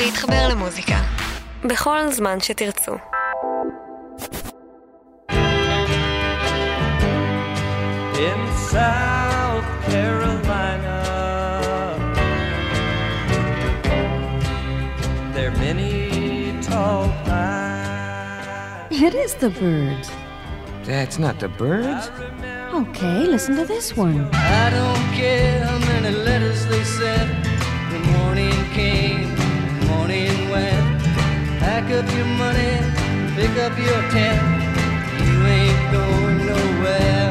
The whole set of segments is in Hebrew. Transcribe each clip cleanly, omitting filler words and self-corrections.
להתחבר למוזיקה בכל זמן שתרצו. In South Carolina, there are many tall pines. It is the Byrds. That's not the Byrds? Okay, listen to this one. I don't care how many letters they sent. The morning came, the morning went. Pack up your money, pick up your tent. You ain't going nowhere.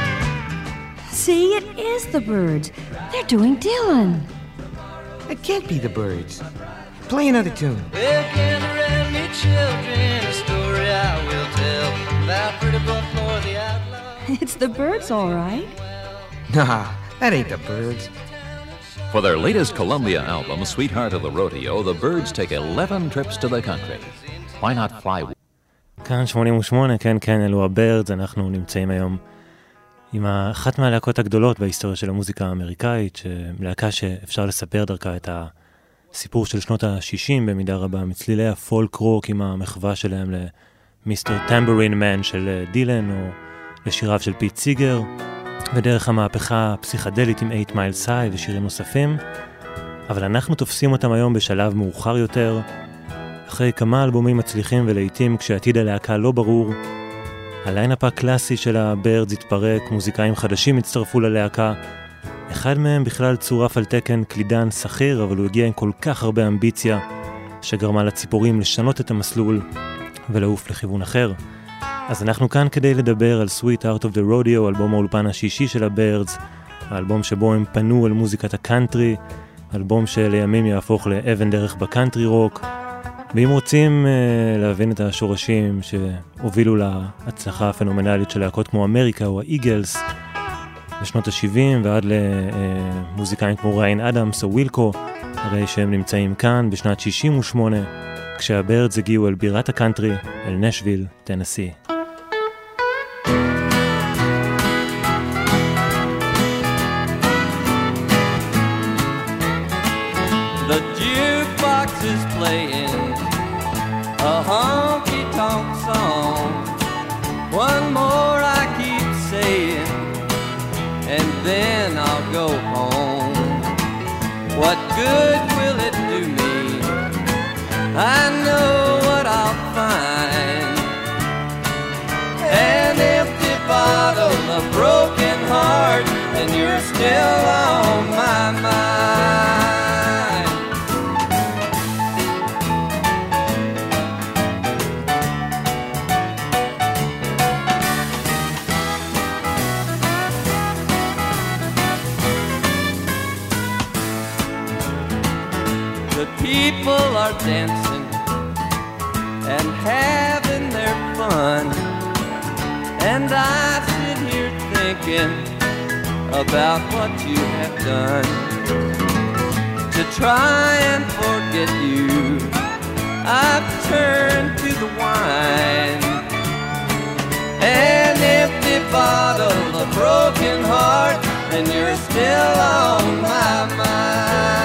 See, it is the Byrds. They're doing Dylan. It can't be the Byrds. Play another tune. Well, can you read me, children, a story I will tell about Pretty Buckmore the outlaw? It's the Byrds, all right. Nah, that ain't the Byrds. For their latest Columbia album, Sweetheart of the Rodeo, the Byrds take 11 trips to the country. Why not fly? כאן 88, כן, אלו הבירדס. אנחנו נמצאים היום עם אחת מהלהקות הגדולות בהיסטוריה של המוזיקה האמריקאית, להקה שאפשר לספר דרכה את הסיפור של שנות ה-60 במידה רבה, מצלילי הפולק רוק עם המחווה שלהם למיסטר טמברין מן של דילן, או לשיריו של פיט סיגר, ודרך המהפכה הפסיכדלית עם 8 Miles High ושירים נוספים. אבל אנחנו תופסים אותם היום בשלב מאוחר יותר, אחרי כמה אלבומים מצליחים ולעיתים כשעתיד הלהקה לא ברור. הליינאפ הקלאסי של הבירדס התפרק, מוזיקאים חדשים הצטרפו ללהקה. אחד מהם בכלל צורף על תקן קלידן שכיר, אבל הוא הגיע עם כל כך הרבה אמביציה שגרמה לציפורים לשנות את המסלול ולעוף לכיוון אחר. אז אנחנו כאן כדי לדבר על Sweetheart of the Rodeo, אלבום האולפן השישי של הבירדס, האלבום שבו הם פנו על מוזיקת הקאנטרי, אלבום שלימים יהפוך לאבן דרך בקאנטרי רוק. ואם רוצים להבין את השורשים שהובילו להצלחה הפנומנלית של להקות כמו אמריקה או האיגלס בשנות ה-70 ועד למוזיקאים כמו ריין אדמס או ווילקו, הרי שהם נמצאים כאן בשנת 68 כשהבירדס הגיעו אל בירת הקאנטרי, אל נשוויל, טנסי. The jukebox is playing a honky-tonk song. One more I keep saying, and then I'll go home. What good will it do me? I know what I'll find. An empty bottle, a broken heart, and you're still on my mind. People are dancing and having their fun, and I sit here thinking about what you have done to try and forget you. I've turned to the wine, an empty bottle, a broken heart, and you're still on my mind.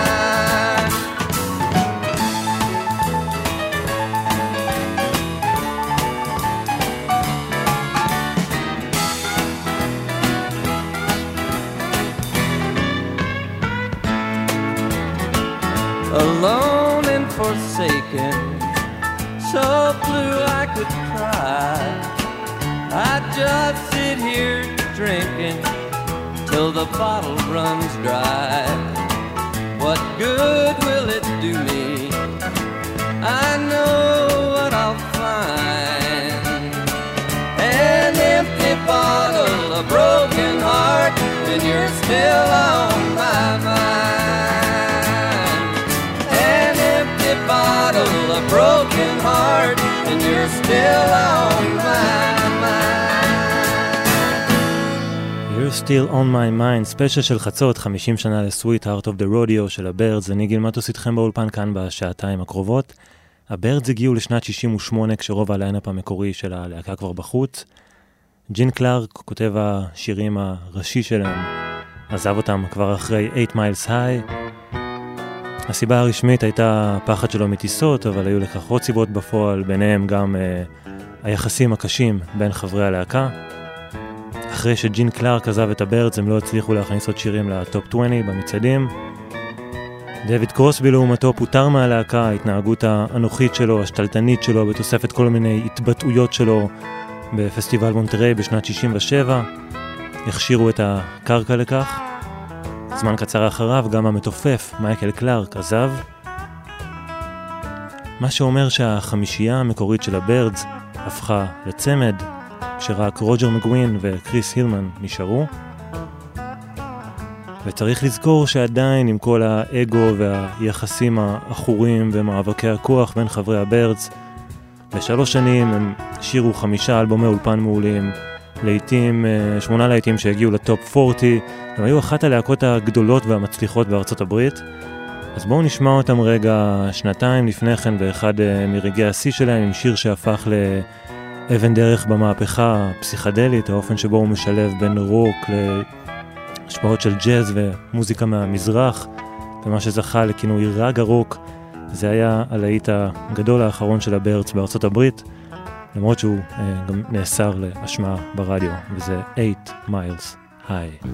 Alone and forsaken, so blue I could cry. I just sit here drinking till the bottle runs dry. What good will it do me? I know what I'll find. An empty bottle, a broken heart, and you're still on my mind. Bottle, a broken heart, and you're still on my mind. You're still on my mind, ספיישל של חצות, 50 שנה ל-Sweetheart of the Rodeo של הבירדס. אני גיל מטוס איתכם באולפן כאן בשעתיים הקרובות. הבירדס הגיעו לשנת 68 כשרוב הליינאפ המקורי של הלהקה כבר בחוץ. ג'ין קלארק, כותב השירים הראשי שלהם, עזב אותם כבר אחרי 8 Miles High. הסיבה הרשמית הייתה פחד שלו מטיסות, אבל היו לכך עוד סיבות בפועל, ביניהם גם היחסים הקשים בין חברי הלהקה. אחרי שג'ין קלארק עזב את הבירדס, הם לא הצליחו להכניס עוד שירים לטופ 20 במצעדים. דויד קרוסבי לעומתו פוטר מהלהקה, ההתנהגות האנוכית שלו, השתלטנית שלו, בתוספת כל מיני התבטאויות שלו בפסטיבל מונטריי בשנת 67, הכשירו את הקרקע לכך. זמן קצר אחריו גם המתופף מייקל קלארק עזב, מה שאומר שהחמישייה המקורית של הבירדס הפכה לצמד, שרק רוג'ר מגווין וקריס הילמן נשארו. וצריך לזכור שעדיין עם כל האגו והיחסים האחורים ומאבקי הכוח בין חברי הבירדס, ב3 שנים הם שירו 5 אלבומי אולפן מעולים, לעיתים, 8 לעיתים שהגיעו לטופ 40, הם היו אחת הלהקות הגדולות והמצליחות בארצות הברית. אז בואו נשמע אותם רגע 2 לפני כן באחד מרגעי השיא שלהם, עם שיר שהפך לאבן דרך במהפכה הפסיכדלית, האופן שבו הוא משלב בין רוק להשפעות של ג'אז ומוזיקה מהמזרח, ומה שזכה לכינוי רגע רוק. זה היה הלהיט הגדול האחרון של הבירדס בארצות הברית, למרות שהוא גם נאסר להשמעה ברדיו, וזה 8 Miles High.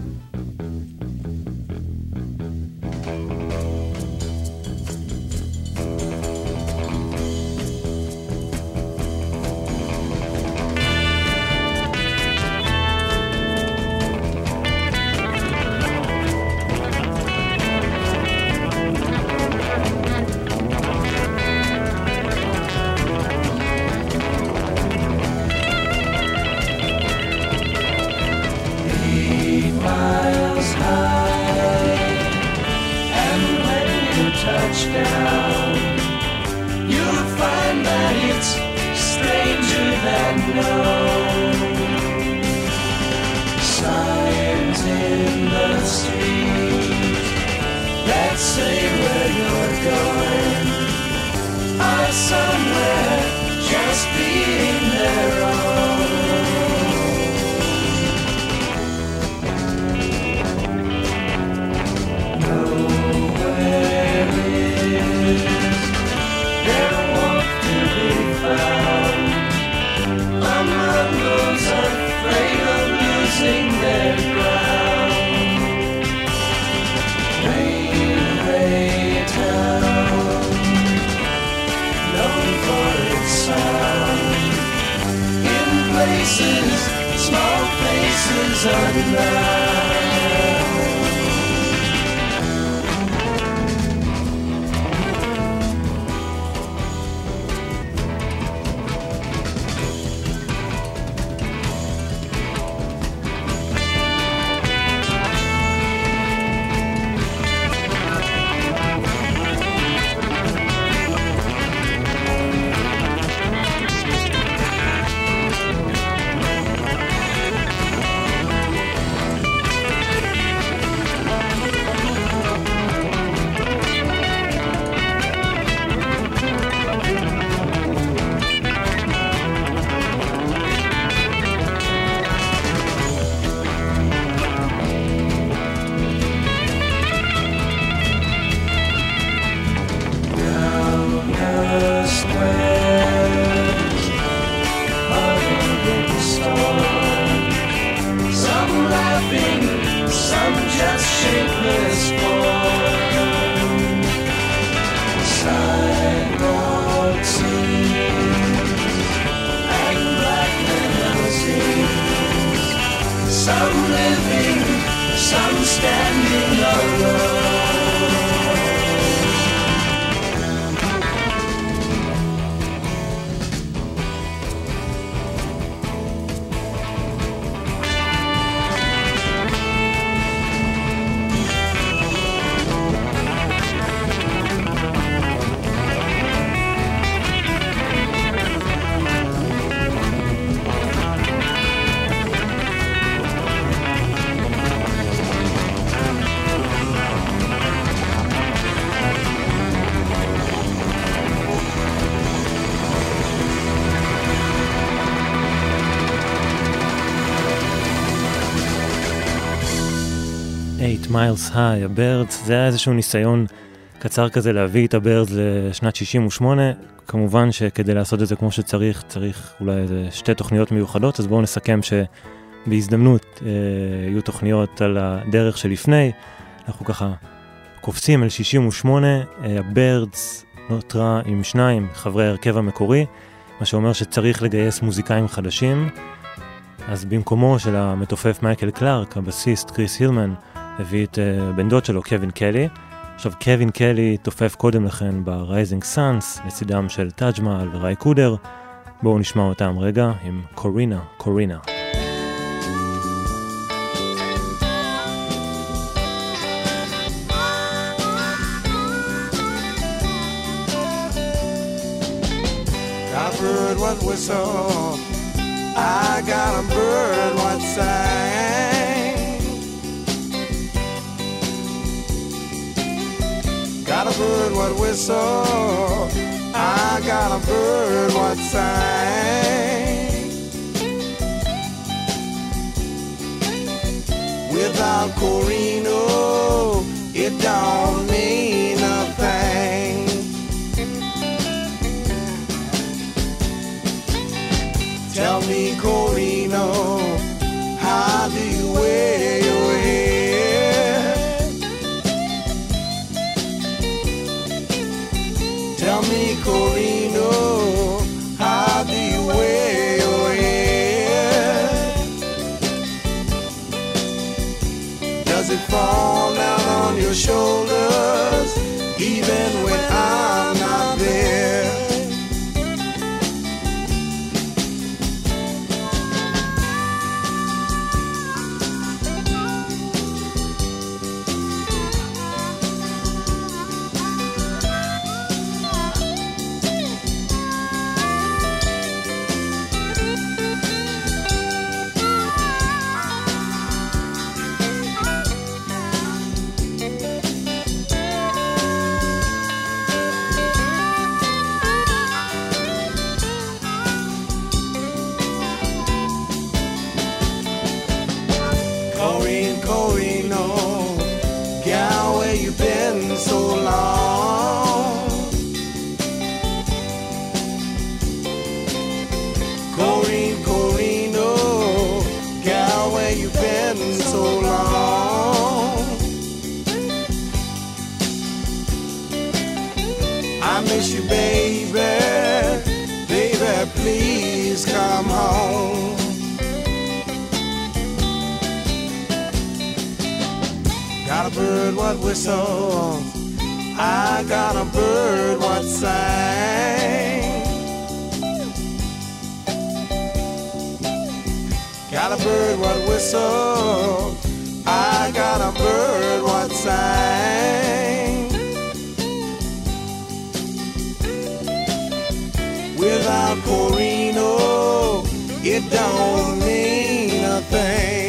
Miles High, הבירדס, זה היה איזשהו ניסיון קצר כזה להביא את הבירדס לשנת 68, כמובן שכדי לעשות את זה כמו שצריך, צריך אולי איזה 2 תוכניות מיוחדות, אז בואו נסכם שבהזדמנות יהיו תוכניות על הדרך שלפני, אנחנו ככה קופצים אל 68, הבירדס נותרה עם 2 חברי ההרכב המקורי, מה שאומר שצריך לגייס מוזיקאים חדשים, אז במקומו של המתופף מייקל קלארק, הבסיסט קריס הילמן, הביא את בן דוד שלו, קווין קלי. עכשיו, קווין קלי תופף קודם לכן ב-Rising Suns, לצידם של טאג' מהל וראי קודר. בואו נשמע אותם רגע עם קורינה, קורינה. Got a bird what whistle, I got a bird what sang. Got a bird what whistle, I got a bird what sang. Without Corino, it don't mean a thing. Tell me, Corino, how do you wear your hair? Tell me, Corino, how do you wear your hair? Does it fall down on your shoulders, even when I'm not there? Whistle, I got a bird what sang. Got a bird what whistle, I got a bird what sang. Without Corino, it don't mean a thing.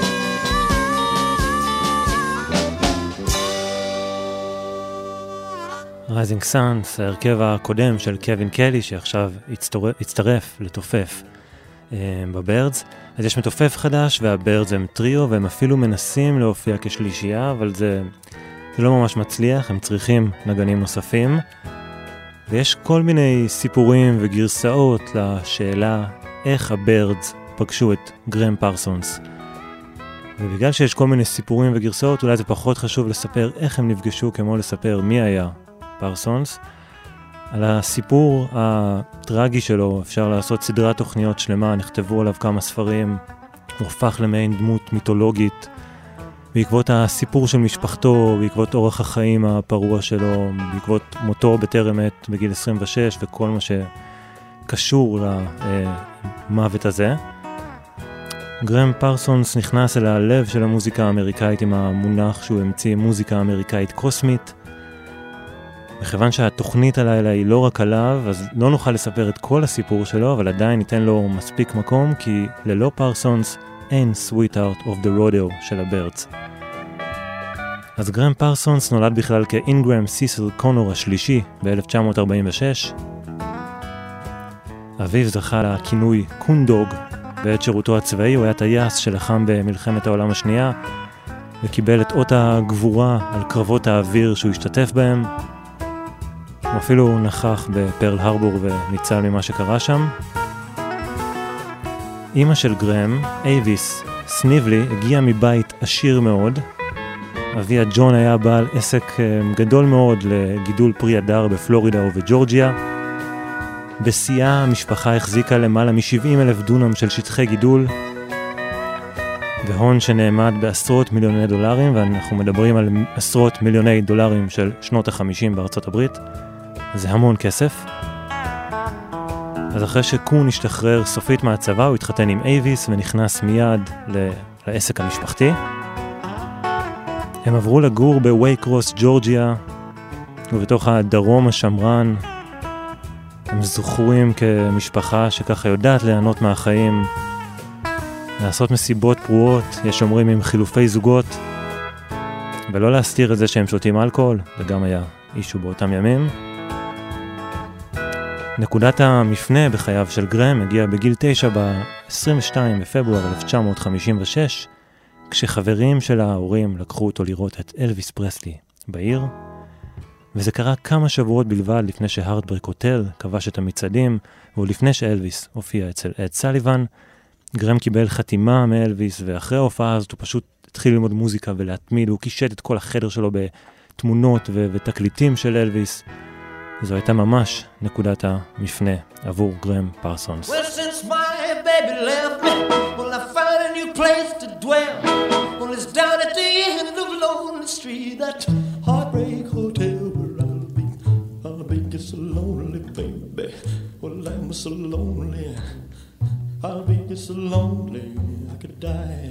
Rising Suns, ההרכב הקודם של קווין קלי, שעכשיו הצטרף לתופף בבירדס. אז יש מתופף חדש, והבירדס הם טריו, והם אפילו מנסים להופיע כשלישייה, אבל זה לא ממש מצליח, הם צריכים נגנים נוספים. ויש כל מיני סיפורים וגרסאות לשאלה איך הבירדס פגשו את גרם פרסונס. ובגלל שיש כל מיני סיפורים וגרסאות, אולי זה פחות חשוב לספר איך הם נפגשו, כמו לספר מי היה פרסונס. על הסיפור הטרגי שלו אפשר לעשות סדרת תוכניות שלמה, נכתבו עליו כמה ספרים, הוא הפך למעין דמות מיתולוגית, בעקבות הסיפור של משפחתו, בעקבות אורח החיים הפרוע שלו, בעקבות מותו בטרם עת בגיל 26 וכל מה שקשור למוות הזה. גרם פרסונס נכנס אל הלב של המוזיקה האמריקאית עם המונח שהוא המציא, מוזיקה אמריקאית קוסמית. מכיוון שהתוכנית הלילה היא לא רק עליו, אז לא נוכל לספר את כל הסיפור שלו, אבל עדיין ניתן לו מספיק מקום, כי ללא פרסונס אין Sweetheart of the Rodeo של הבירדס. אז גרם פרסונס נולד בכלל כאינגרם סיסל קונור השלישי ב-1946. אביו זכה לכינוי קונדוג. בעת שירותו הצבאי הוא היה טייס שלחם במלחמת העולם השנייה, וקיבל את אות הגבורה על קרבות האוויר שהוא השתתף בהם. הוא אפילו נכח בפרל הרבור וניצל ממה שקרה שם. אמא של גרם, אייביס סניבלי, הגיעה מבית עשיר מאוד. אביה ג'ון היה בעל עסק גדול מאוד לגידול פרי הדר בפלורידה ובג'ורג'יה. בשיאה המשפחה החזיקה למעלה מ-70,000 דונם של שטחי גידול, והון שנאמד בעשרות מיליוני דולרים, ואנחנו מדברים על עשרות מיליוני דולרים של שנות ה-50 בארצות הברית. זה המון כסף. אז אחרי שקון השתחרר סופית מהצבא, הוא התחתן עם אייביס ונכנס מיד לעסק המשפחתי. הם עברו לגור בווייקרוס, ג'ורג'יה, ובתוך הדרום השמרן. הם זוכרים כמשפחה שככה יודעת ליהנות מהחיים, לעשות מסיבות פרועות, יש אומרים עם חילופי זוגות, ולא להסתיר את זה שהם שותים אלכוהול, זה גם היה אישו באותם ימים. נקודת המפנה בחייו של גרם הגיעה בגיל 9 ב-22 בפברואר 1956, כשחברים של ההורים לקחו אותו לראות את אלוויס פרסלי בעיר, וזה קרה כמה שבועות בלבד לפני שהארטברק הוטל כבש את המצעדים, ולפני שאלוויס הופיע אצל אד סליבן. גרם קיבל חתימה מאלוויס, ואחרי ההופעה הזאת הוא פשוט התחיל ללמוד מוזיקה ולהתמיד, הוא קישט את כל החדר שלו בתמונות ותקליטים של אלוויס. זו הייתה ממש נקודת המפנה עבור גרם פרסונס. Well, since my baby left me, well, I found a new place to dwell. Well, it's down at the end of Lonely Street, that heartbreak hotel where I'll be just so lonely, baby. Well, I'm so lonely, I'll be just so lonely, I could die.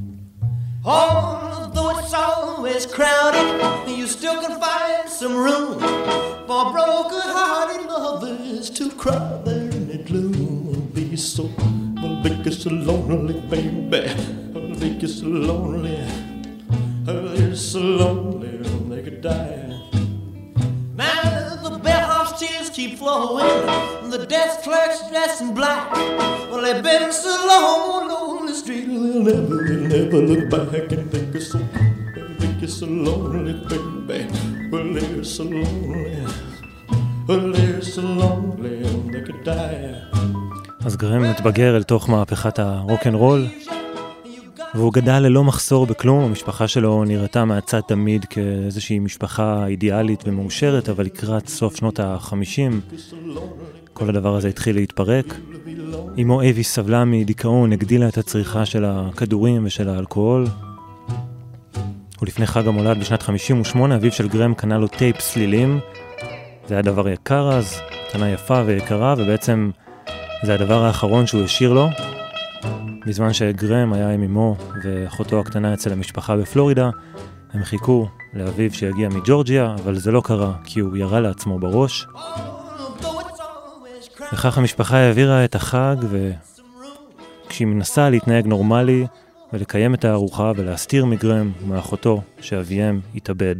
Although it's always crowded, you still can find some room for broken-hearted lovers to cry there in the gloom. I'll be so lonely, baby. I'll be so lonely. They're so lonely they could die. Now the bellhop's tears keep flowing, the desk clerk's dressed in black. Well, they've been so long on the street, they'll never look back and think you're so lonely, baby. Well, they're so lonely. Well, they're so lonely they could die. אז גרם מתבגר אל תוך מהפכת הרוק'נ'רול, והוא גדל ללא מחסור בכלום. המשפחה שלו נראתה מהצד תמיד כאיזושהי משפחה אידיאלית ומאושרת, אבל לקראת סוף שנות ה-50 כל הדבר הזה התחיל להתפרק. אמו אייביס סבלה מדיכאון, הגדילה את הצריכה של הכדורים ושל האלכוהול. ולפני חג המולד בשנת 58 אביו של גרם קנה לו טייפ סלילים. זה היה דבר יקר אז, קנה יפה ויקרה, ובעצם זה הדבר האחרון שהוא השאיר לו. בזמן שגרם היה עם אמו ואחותו הקטנה אצל המשפחה בפלורידה, הם חיכו לאביו שיגיע מג'ורג'יה, אבל זה לא קרה כי הוא ירה לעצמו בראש. וכך המשפחה העבירה את החג, וכשהיא מנסה להתנהג נורמלי ולקיים את הארוחה ולהסתיר מגרם ומאחותו שאביהם התאבד.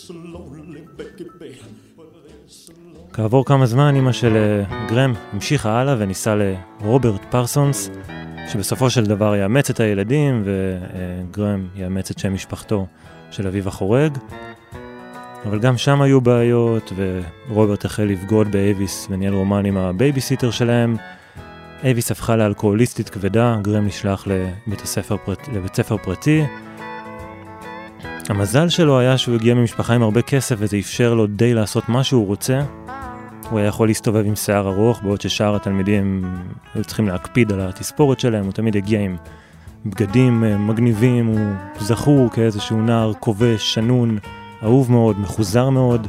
כעבור כמה זמן אמא של גרם המשיכה הלאה וניסה לרוברט פרסונס, שבסופו של דבר יאמץ את הילדים, וגרם יאמץ את שם משפחתו של אביו החורג. אבל גם שם היו בעיות, ורוברט החל לבגוד באייביס וניהל רומן עם הבייביסיטר שלהם. אייביס הפכה לאלכוהוליסטית כבדה, גרם נשלח לבית ספר פרטי. המזל שלו היה שהוא הגיע ממשפחה עם הרבה כסף, וזה אפשר לו די לעשות מה שהוא רוצה. הוא היה יכול להסתובב עם שיער ארוך, בעוד ששאר התלמידים היו צריכים להקפיד על התספורת שלהם. הוא תמיד הגיע עם בגדים מגניבים, הוא זכור כאיזשהו נער כובש, שנון, אהוב מאוד, מחוזר מאוד.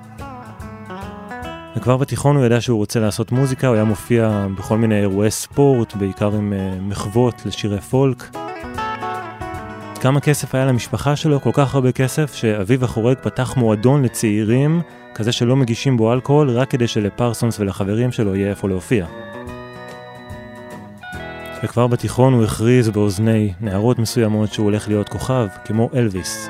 וכבר בתיכון הוא ידע שהוא רוצה לעשות מוזיקה, הוא היה מופיע בכל מיני אירועי ספורט, בעיקר עם מחוות לשירי פולק. כמה כסף היה למשפחה שלו, כל כך הרבה כסף, שאביו החורג פתח מועדון לצעירים, כזה שלא מגישים בו אלכוהול, רק כדי שלפרסונס ולחברים שלו יהיה איפה להופיע. וכבר בתיכון הוא הכריז באוזני נערות מסוימות שהוא הולך להיות כוכב, כמו אלוויס.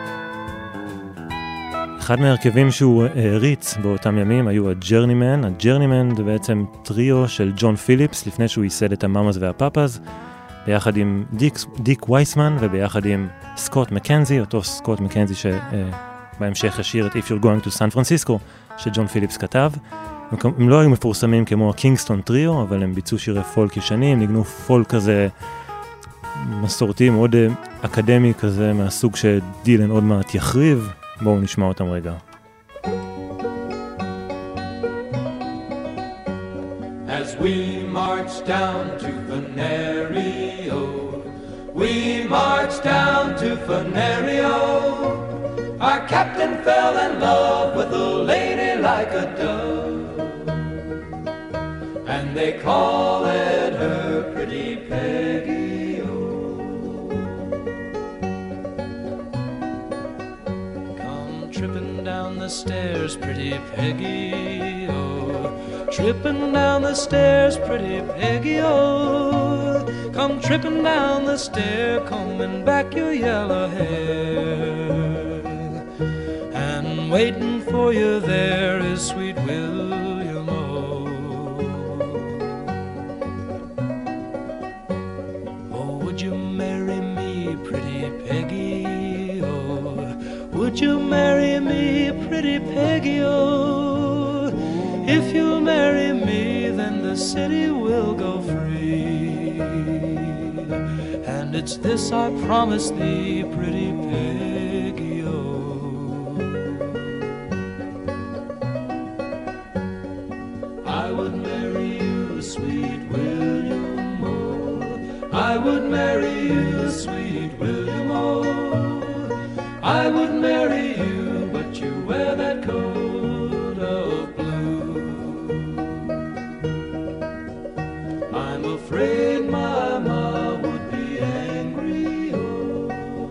אחד מהרכבים שהוא העריץ באותם ימים היו הג'רנימן. הג'רנימן זה בעצם טריו של ג'ון פיליפס, לפני שהוא ייסד את המאמאז והפאפאז. ב-19 ביחד עם דיק וייסמן וביחד עם סקוט מקנזי, אותו סקוט מקנזי שבהמשך השיר את If You're Going to San Francisco שג'ון פיליפס כתב. הם לא היו מפורסמים כמו הקינגסטון טריו, אבל הם ביצעו שירי פולק ישנים, ניגנו פולק כזה מסורתי, מאוד אקדמי כזה, מהסוג שדילן עוד מעט יחריב. בואו נשמע אותם רגע. As we march down to Venerio, we march down to Venerio. Our captain fell in love with a lady like a dove, and they call it her Pretty Peggy-O. Come tripping down the stairs, Pretty Peggy-O. Tripping down the stairs, Pretty Peggy-O. Come tripping down the stair, combing back your yellow hair. And waiting for you there is sweet William O. Oh, would you marry me, Pretty Peggy-O? Would you marry me, Pretty Peggy-O? If you marry me, then the city will go free. And it's this I promise thee, Pretty Peggy-O. I would marry you, sweet William O. I would marry you, sweet William O. I would marry you, but you wear that coat of blue. I'm afraid my ma would be angry, oh.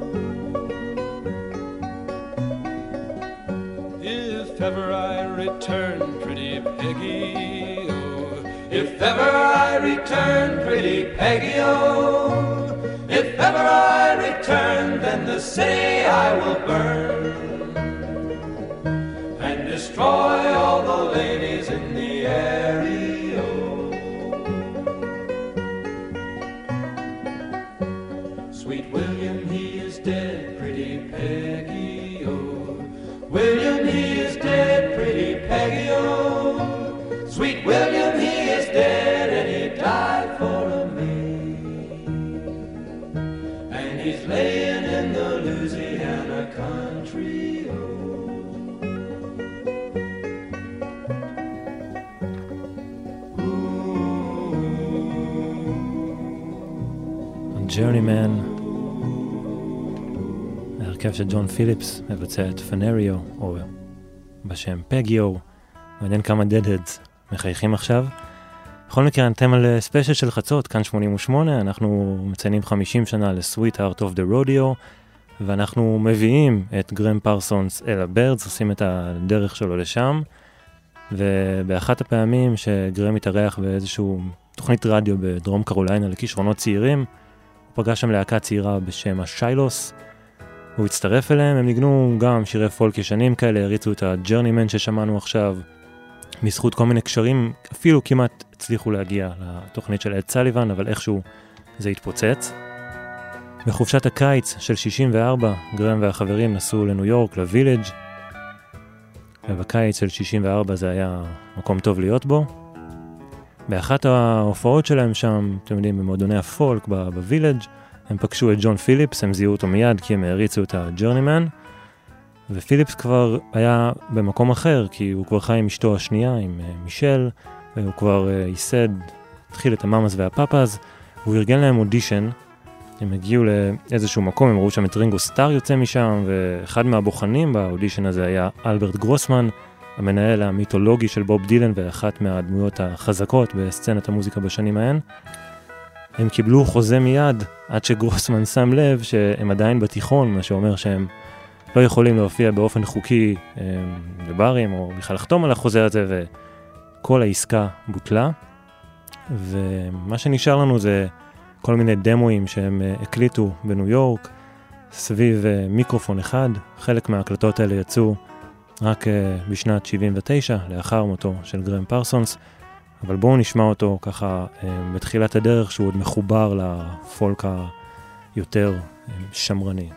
If ever I return, Pretty Peggy-O. If ever I return, Pretty Peggy-O. If ever I return, then the city I will burn and destroy all the ladies in the area. Sweet William, he is dead, Pretty Peggy-O. William, he is dead, Pretty Peggy-O. Sweet William, he is dead, and he died for a maid. And he's laying in the Louisiana country. Journeyman, ההרכב של ג'ון פיליפס מבצע את פנריו, או בשם פגיו. מעניין כמה דדהדס מחייכים עכשיו. בכל מקרה, אתם על ספיישל של חצות, כאן 88, אנחנו מציינים 50 שנה ל-Sweet Heart of the Rodeo, ואנחנו מביאים את גרם פרסונס אל הבירדס, עושים את הדרך שלו לשם, ובאחת הפעמים שגרם התארח באיזשהו תוכנית רדיו בדרום קרוליינה לכישרונות צעירים, הוא פגש שם להקה צעירה בשם השיילוס, הוא הצטרף אליהם, הם ניגנו גם שירי פולק ישנים כאלה, הריצו את הג'רנימן ששמענו עכשיו, בזכות כל מיני קשרים, אפילו כמעט הצליחו להגיע לתוכנית של אד סליבן, אבל איכשהו זה התפוצץ. בחופשת הקיץ של 64, גרם והחברים נסעו לניו יורק, לווילג', ובקיץ של 64 זה היה מקום טוב להיות בו. באחת ההופעות שלהם שם, אתם יודעים, במועדוני הפולק בווילג', הם פגשו את ג'ון פיליפס, הם זיהו אותו מיד כי הם הריצו את הג'רנימן, ופיליפס כבר היה במקום אחר, כי הוא כבר חי עם אשתו השנייה, עם מישל, והוא כבר ייסד, התחיל את המאמאס והפאפאז, והוא ארגן להם אודישן, הם הגיעו לאיזשהו מקום, הם ראו שם את רינגו סטאר יוצא משם, ואחד מהבוחנים באודישן הזה היה אלברט גרוסמן, המנהל המיתולוגי של בוב דילן, ואחת מהדמויות החזקות בסצנת המוזיקה בשנים ההן. הם קיבלו חוזה מיד, עד שגרוסמן שם לב שהם עדיין בתיכון, מה שאומר שהם לא יכולים להופיע באופן חוקי לברים, או בכלל לחתום על החוזה הזה, וכל העסקה בוטלה. ומה שנשאר לנו זה כל מיני דמואים שהם הקליטו בניו יורק, סביב מיקרופון אחד. חלק מההקלטות האלה יצאו רק בשנת 79, לאחר מותו של גרם פרסונס, אבל בואו נשמע אותו ככה בתחילת הדרך, שהוא עוד מחובר לפולק היותר שמרני.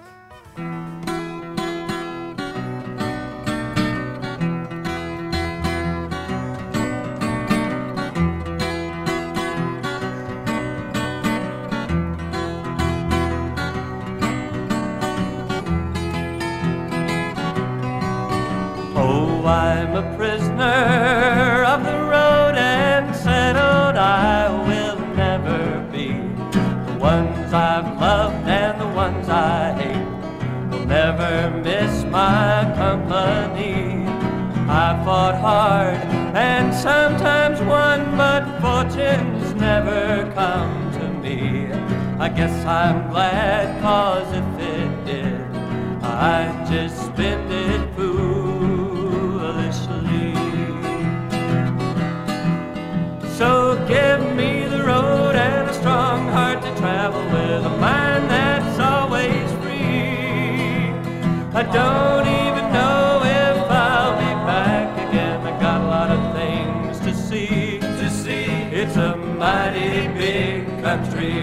I'm a prisoner of the road and settled I will never be. The ones I've loved and the ones I hate will never miss my company. I fought hard and sometimes won, but fortune's never come to me. I guess I'm glad, 'cause if it did, I'd just spend it foolishly. So give me the road and a strong heart to travel with, a mind that's always free. I don't even know if I'll be back again. I got a lot of things to see. It's a mighty big country.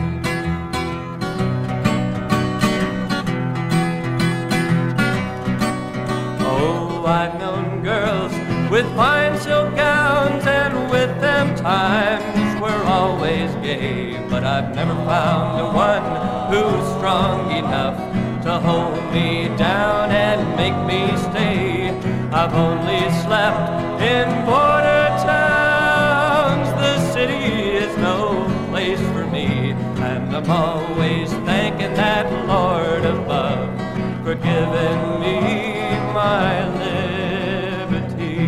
I've known girls with fine silk gowns, and with them times were always gay, but I've never found a one who's strong enough to hold me down and make me stay. I've only slept in border towns. The city is no place for me, and I'm always thanking that Lord above for giving me my liberty.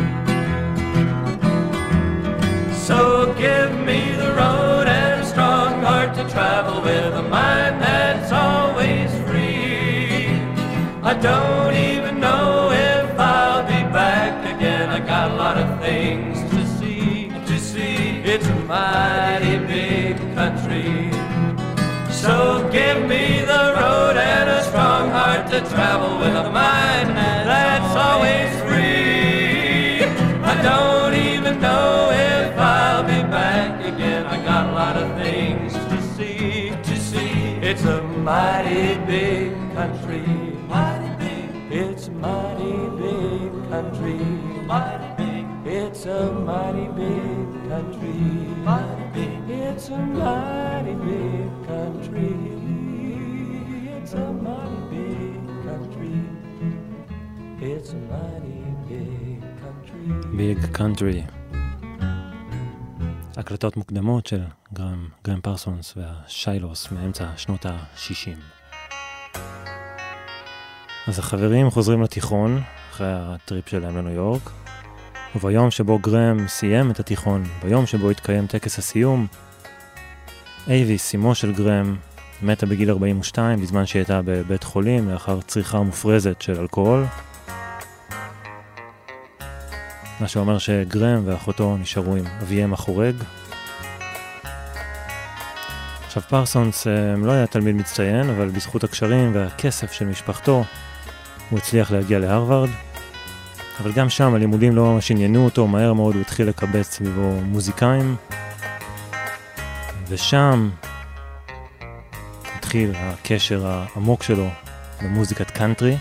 So give me the road and a strong heart to travel with, a mind that's always free. I don't even know if I'll be back again. I got a lot of things to see. It's a mighty big country. So give me the road and a strong heart to travel with, a mind that's always free. I don't even know if I'll be back again. I got a lot of things to see. It's a mighty big country. It's a mighty big country. It's a mighty big country. It's a mighty big country. It's a mighty big country. It's a mighty big country. Big country. הקלטות מוקדמות של גרם פרסונס והשיילוס מאמצע שנות ה-60. אז החברים חוזרים לתיכון אחרי הטריפ שלהם לניו יורק, וביום שבו גרם סיים את התיכון, ביום שבו התקיים טקס הסיום, אייביס, אמו של גרם, מתה בגיל 42 בזמן שהיא הייתה בבית חולים לאחר צריכה מופרזת של אלכוהול. מה שאומר שגרם ואחותו נשארו עם אביהם החורג. עכשיו פרסונס לא היה תלמיד מצטיין, אבל בזכות הקשרים והכסף של משפחתו הוא הצליח להגיע להרווארד. אבל גם שם הלימודים לא ממש עניינו אותו, מהר מאוד הוא התחיל לקבץ סביבו מוזיקאים. ושם התחיל הקשר העמוק שלו למוזיקת קאנטרי.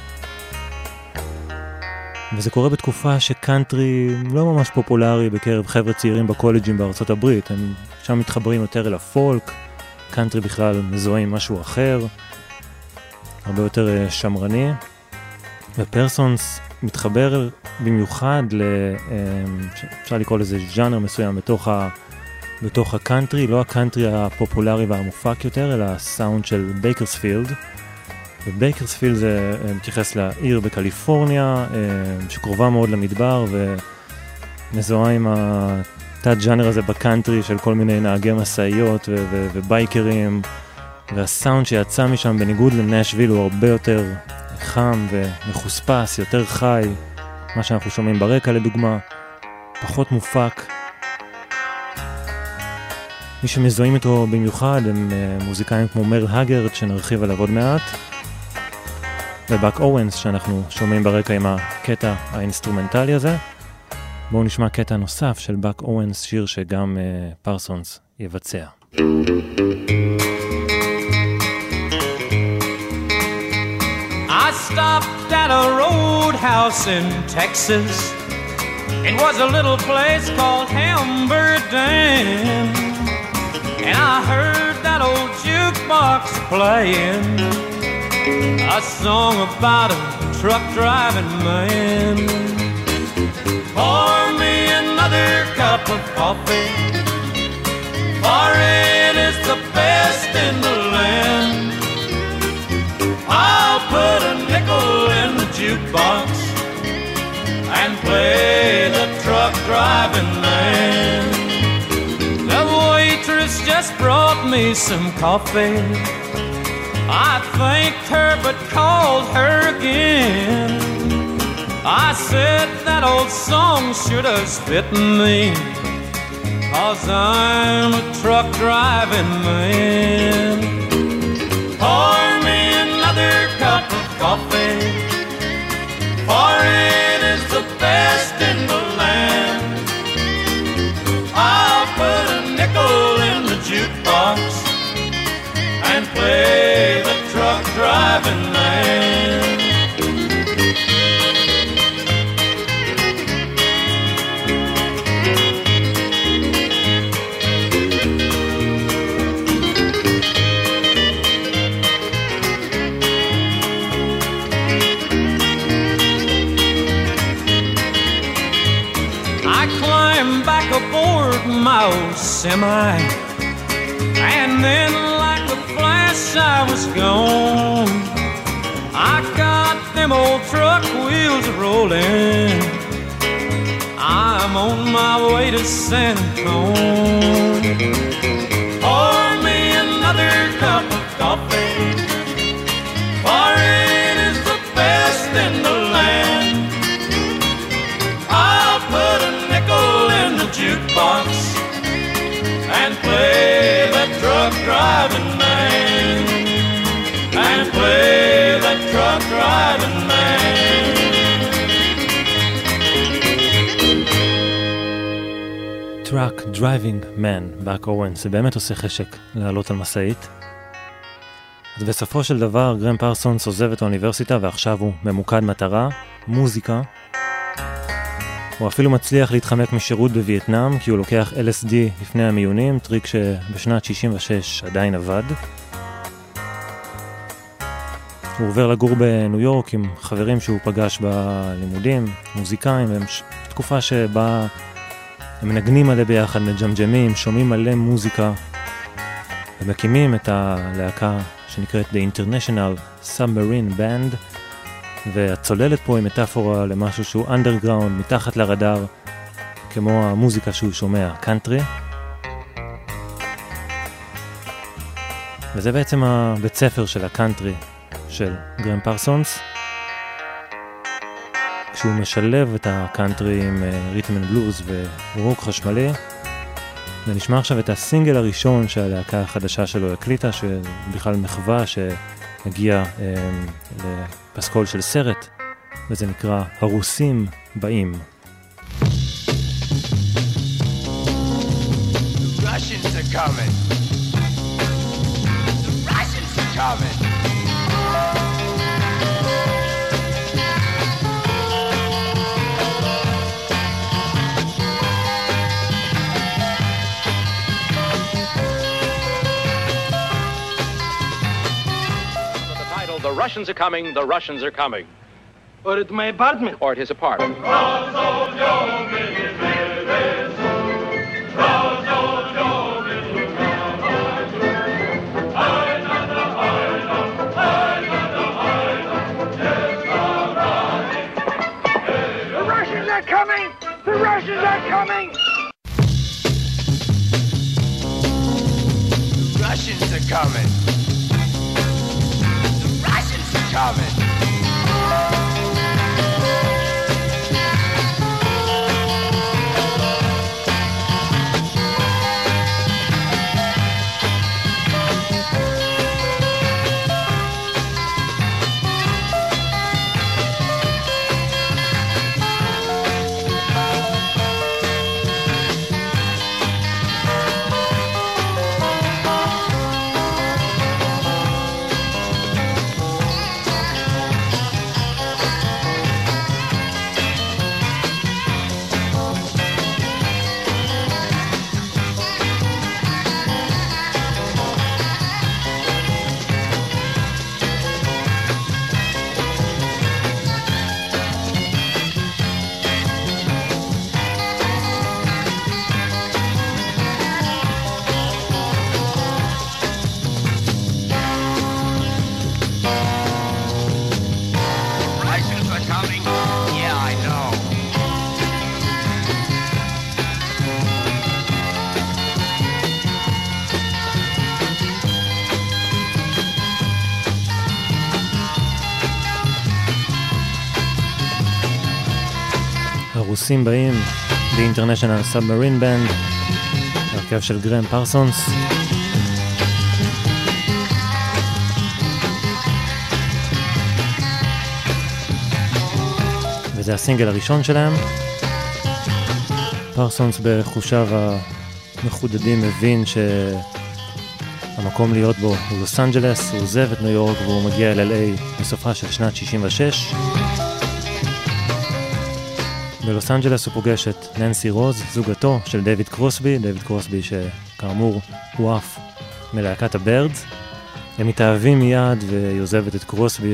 וזה קורה בתקופה שקאנטרי לא ממש פופולרי בקרב חבר'ה צעירים בקולג'ים בארצות הברית. הם שם מתחברים יותר אל הפולק, קאנטרי בכלל מזוהה עם משהו אחר, הרבה יותר שמרני. ופרסונס מתחבר במיוחד אפשר לקרוא לזה ז'אנר מסוים בתוך הקאנטרי, לא הקאנטרי הפופולרי והמופק יותר, אלא הסאונד של בייקרספילד. ובייקרספילד זה מתייחס לעיר בקליפורניה, שקרובה מאוד למדבר, ומזוהה עם התת ז'אנר הזה בקאנטרי של כל מיני נהגי מסעיות ובייקרים, והסאונד שיצא משם בניגוד לנשוויל הוא הרבה יותר חם ומחוספס, יותר חי, מה שאנחנו שומעים ברקע לדוגמה, פחות מופק. מי שמזוהים איתו במיוחד הם מוזיקאים כמו מרל הגרד, שנרחיב עליו עוד מעט, ובאק אורנס שאנחנו שומעים ברקע עם הקטע האינסטרומנטלי הזה. בואו נשמע קטע נוסף של בק אורנס, שיר שגם פרסונס יבצע. I stopped at a roadhouse in Texas. It was a little place called Hamburgdan, and I heard that old jukebox playing a song about a truck driving man. Pour me another cup of coffee, for it is the best in the land. I'll put a nickel in the jukebox and play the truck driving man. The waitress just brought me some coffee. I thanked her but called her again. I said that old song should have fit me, 'cause I'm a truck driving man. Pour me another cup of coffee, for it is the best in the land. I'll put a nickel in the jukebox and play the truck driving man. Aboard my old semi, and then like a flash I was gone. I got them old truck wheels rolling, I'm on my way to San Antonio. Pour me another cup of coffee, for it is the best in the land. I'll put a nickel in the jukebox and play the truck driving man, and play the truck driving man. Truck Driving Man, בק אורנס, זה באמת עושה חשק לעלות על מסעית. אז בסופו של דבר גרם פרסונס עוזב את האוניברסיטה ועכשיו הוא ממוקד מטרה, מוזיקה. הוא אפילו מצליח להתחמק משירות בווייטנאם, כי הוא לוקח LSD לפני המיונים, טריק שבשנת 66 עדיין עבד. הוא עובר לגור בניו יורק עם חברים שהוא פגש בלימודים, מוזיקאים, והם תקופה שבה הם מנגנים מלא ביחד, מג'מג'מים, שומעים מלא מוזיקה, ומקימים את הלהקה שנקראת The International Submarine Band, והצוללת פה היא מטאפורה למשהו שהוא אנדרגראונד, מתחת לרדאר, כמו המוזיקה שהוא שומע, קאנטרי. וזה בעצם הבית ספר של הקאנטרי של גרם פרסונס, כשהוא משלב את הקאנטרי עם רית'ם אנד בלוז ורוק חשמלי. ונשמע עכשיו את הסינגל הראשון שהלהקה החדשה שלו הקליטה, שבכלל מחווה שהגיע לפסקול של סרט, וזה נקרא הרוסים באים. Russians are coming. The Russians are coming. The Russians are coming, the Russians are coming. Or at my apartment. Or at his apartment. The Russians are coming! The Russians are coming! The Russians are coming. Coming. הרוסים באים, The International Submarine Band, הרכב של גרם פרסונס. וזה הסינגל הראשון שלהם. פרסונס בחושיו המחודדים מבין שהמקום להיות בו הוא לוס אנג'לס, הוא עוזב את ניו יורק והוא מגיע אל LA בסופה של שנת 66. בלוס אנג'לס הוא פוגש את ננסי רוז, זוגתו של דיוויד קרוסבי, שכאמור הוא אף מלהקת הבירדס. הם מתאהבים מיד והיא עוזבת את קרוסבי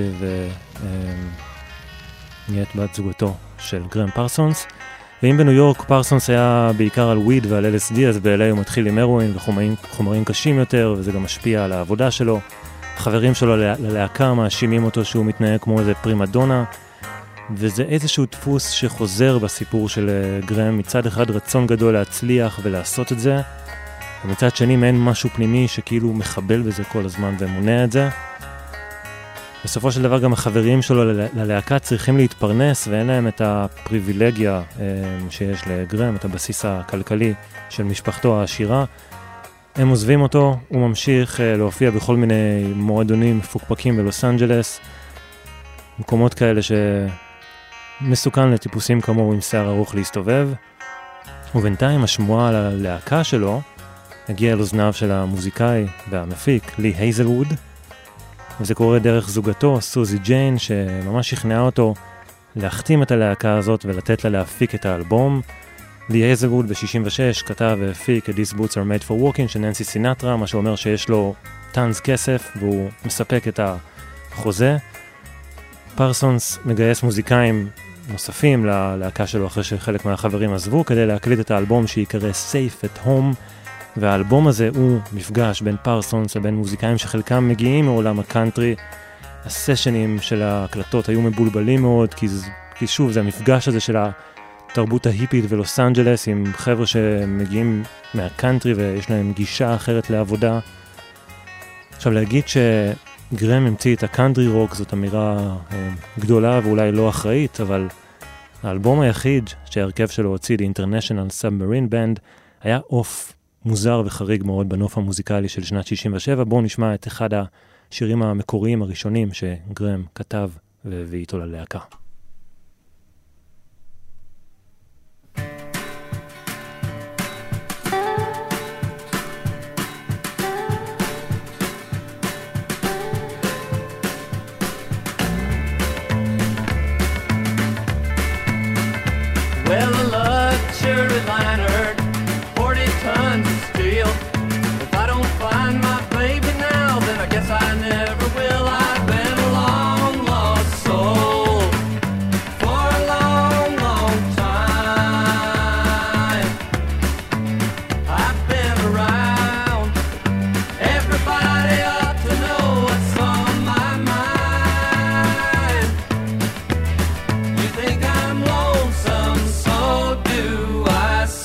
ונהיית בת זוגתו של גרם פרסונס. ואם בניו יורק פרסונס היה בעיקר על וויד ועל LSD, אז ב-LA הוא מתחיל עם הרואין וחומרים קשים יותר, וזה גם משפיע על העבודה שלו. החברים שלו ללהקה מאשימים אותו שהוא מתנהג כמו איזה פרימדונה, וזה איזשהו דפוס שחוזר בסיפור של גרם. מצד אחד רצון גדול להצליח ולעשות את זה, ומצד שני מעין משהו פנימי שכאילו מחבל בזה כל הזמן ומונע את זה. בסופו של דבר גם החברים שלו ללהקה צריכים להתפרנס, ואין להם את הפריבילגיה שיש לגרם, את הבסיס הכלכלי של משפחתו העשירה. הם עוזבים אותו, הוא ממשיך להופיע בכל מיני מועדונים מפוקפקים בלוס אנג'לס, מקומות כאלה שמסוכן לטיפוסים כמוהו עם שיער ארוך להסתובב. ובינתיים השמועה על הלהקה שלו הגיעה אל אוזניו של המוזיקאי והמפיק לי הייזלווד, וזה קורה דרך זוגתו, סוזי ג'יין, שממש שכנעה אותו להחתים את הלהקה הזאת ולתת לה להפיק את האלבום. לי הייזלווד ב-66 כתב והפיק את These Boots are Made for Walking של ננסי סינטרה, מה שאומר שיש לו טנס כסף והוא מספק את החוזה. פרסונס מגייס מוזיקאים נוספים ללהקה שלו אחרי שחלק מהחברים עזבו, כדי להקליט את האלבום שיקרא Safe at Home, והאלבום הזה הוא מפגש בין פרסונס לבין מוזיקאים שחלקם מגיעים מעולם הקאנטרי. הסשנים של ההקלטות היו מבולבלים מאוד, כי שוב זה המפגש הזה של התרבות ההיפית ולוס אנג'לס עם חבר'ה שמגיעים מהקאנטרי ויש להם גישה אחרת לעבודה. עכשיו להגיד שגרם המציא את הקאנטרי רוק זאת אמירה גדולה ואולי לא אחראית, אבל האלבום היחיד שההרכב שלו הוציא, The International Submarine Band, היה אוף מוזר וחריג מאוד בנוף המוזיקלי של שנת 67. בואו נשמע את אחד השירים המקוריים הראשונים שגרם כתב והביא איתו ללהקה. Well, a luxury liner, 40 tons of steel. If I don't find my baby now, then I guess I never will. I've been a long lost soul for a long, long time. I've been around. Everybody ought to know what's on my mind. You think I'm lonesome, so do I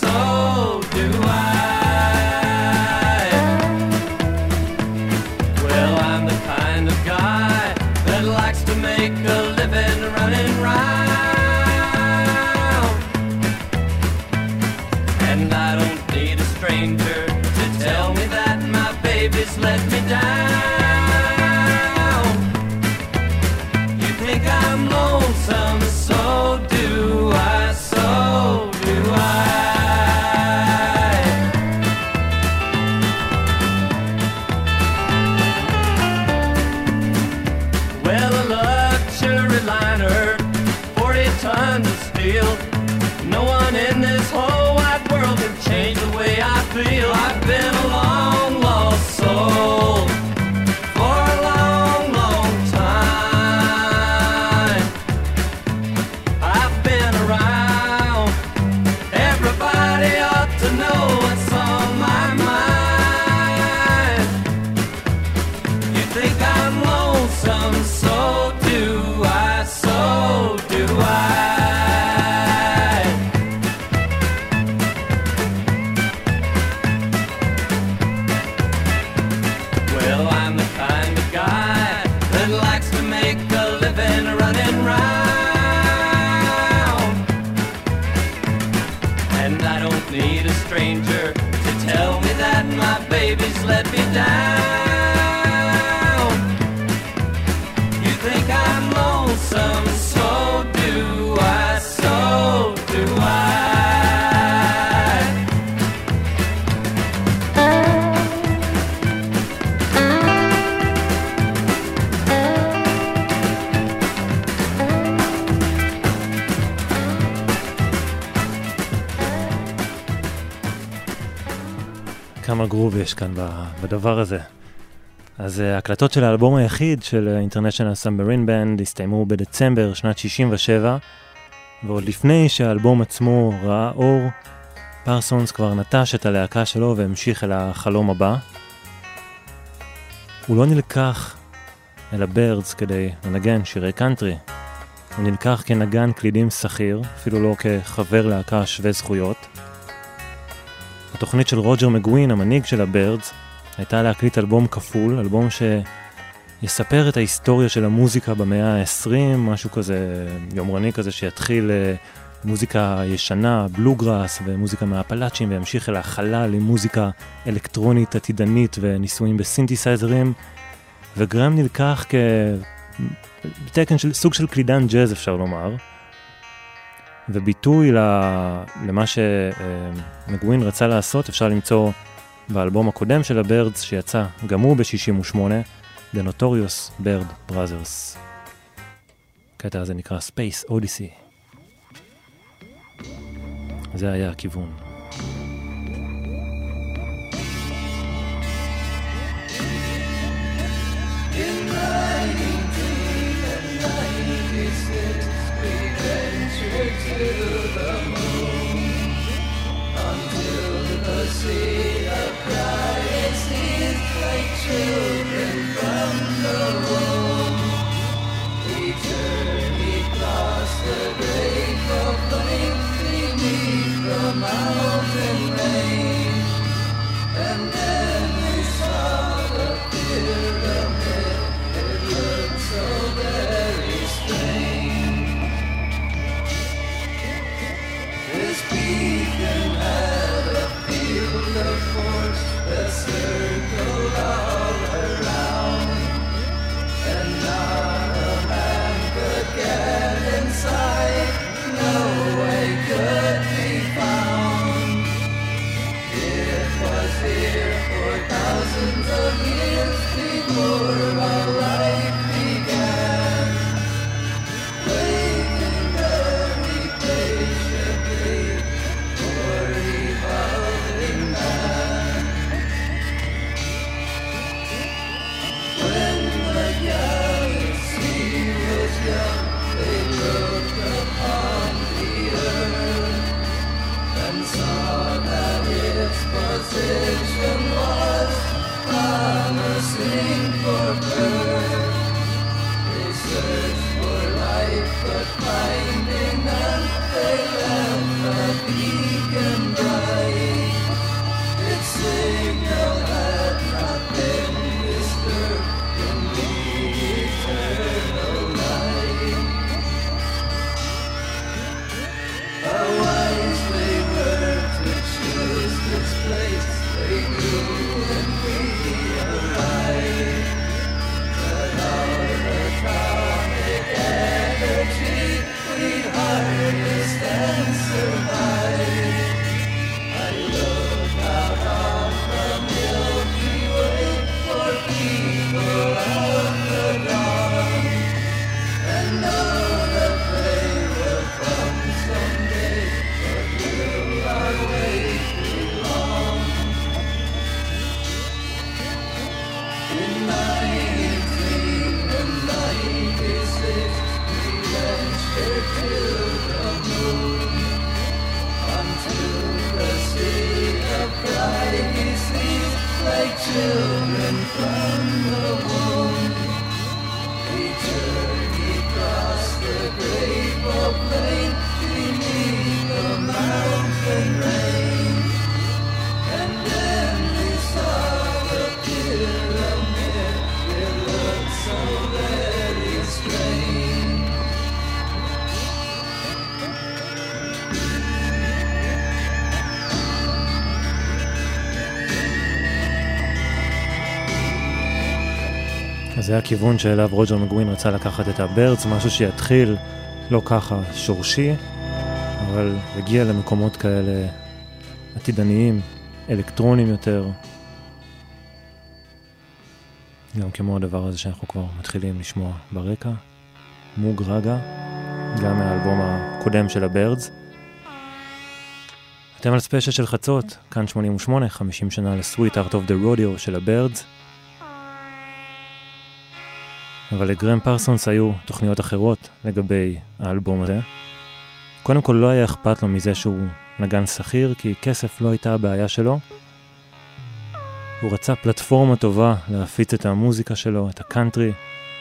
And I don't need a stranger to tell me that my baby's let me down. You think I'm lonesome, so do I, so do I. כמה גרוב יש כאן בדבר הזה. אז ההקלטות של האלבום היחיד של International Submarine Band הסתיימו בדצמבר שנת 67, ועוד לפני שהאלבום עצמו ראה אור, פרסונס כבר נטש את הלהקה שלו והמשיך אל החלום הבא. הוא לא נלקח אל הבירדס כדי לנגן שירי קאנטרי. הוא נלקח כנגן קלידים שכיר, אפילו לא כחבר להקה שווה זכויות. התוכנית של רוג'ר מגווין, המנהיג של הבירדס, הייתה להקליט אלבום כפול, אלבום שיספר את ההיסטוריה של המוזיקה במאה ה-20, משהו כזה יומרני כזה שיתחיל מוזיקה ישנה, בלוגראס ומוזיקה מהפלאצ'ים, וימשיך אל החלל עם מוזיקה אלקטרונית עתידנית וניסויים בסינתסייזרים, וגרם נלקח כתקן של סוג של קלידן ג'אז אפשר לומר, וביטוי למה שמגווין רצה לעשות אפשר למצוא באלבום הקודם של הבירדס שיצא גם הוא ב-68, The Notorious Bird Brothers. הקטע הזה נקרא Space Odyssey. זה היה הכיוון. To the moon until the sea of Christ is like children from the womb. We journeyed across the great plain beneath the mountain range, and then we saw the pyramid. It looked so very strange. This beacon had a field of force that circled all around, and not a man could get inside, no way could be found. It was here for thousands of years before our life began, waiting very patiently for evolving man. When the galaxy was young, they looked upon the earth and saw that its position was promising for birth. They searched for life, but finding none, they left the beacon bright. Its signal had not been disturbed in the eternal night. How wise they were to choose this place. They knew when we arrived that our atomic energy we'd harness and survive. I look out on the Milky Way for people of the dawn, and know that they will come someday, but will our wait be long? In 1996 we ventured to the moon, until the sea of privacy, like children from the womb. We journeyed across the great plain beneath the mountain range, and then we saw the pyramid. It looked so very strange. אז זה הכיוון שאליו רוג'ר מגווין רצה לקחת את הבירדס, משהו שיתחיל לא ככה שורשי, אבל הגיע למקומות כאלה עתידניים, אלקטרונים יותר, גם כמו הדבר הזה שאנחנו כבר מתחילים לשמוע ברקע, מוג רגע, גם מהאלבום הקודם של הבירדס. אתם על ספיישל של חצות, כאן 88, 50 שנה ל-Sweet Heart of the Rodeo של הבירדס. אבל לגרם פרסונס היו תוכניות אחרות לגבי האלבום הזה. קודם כל לא היה אכפת לו מזה שהוא נגן שכיר, כי כסף לא הייתה הבעיה שלו. הוא רצה פלטפורמה טובה להפיץ את המוזיקה שלו, את הקאנטרי.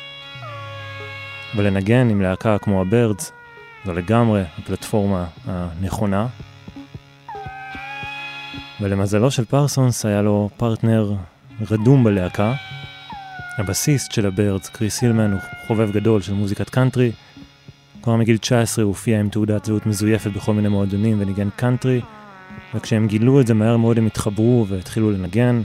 ולנגן עם להקה כמו הבירדס, זו לגמרי הפלטפורמה הנכונה. ולמזלו של פרסונס היה לו פרטנר רדום בלהקה. הבסיסט של הבירדס, קריס הילמן, הוא חובב גדול של מוזיקת קאנטרי. כבר מגיל 19 הוא הופיע עם תעודת זהות מזויפת בכל מיני מועדונים וניגן קאנטרי. וכשהם גילו את זה מהר מאוד הם התחברו והתחילו לנגן.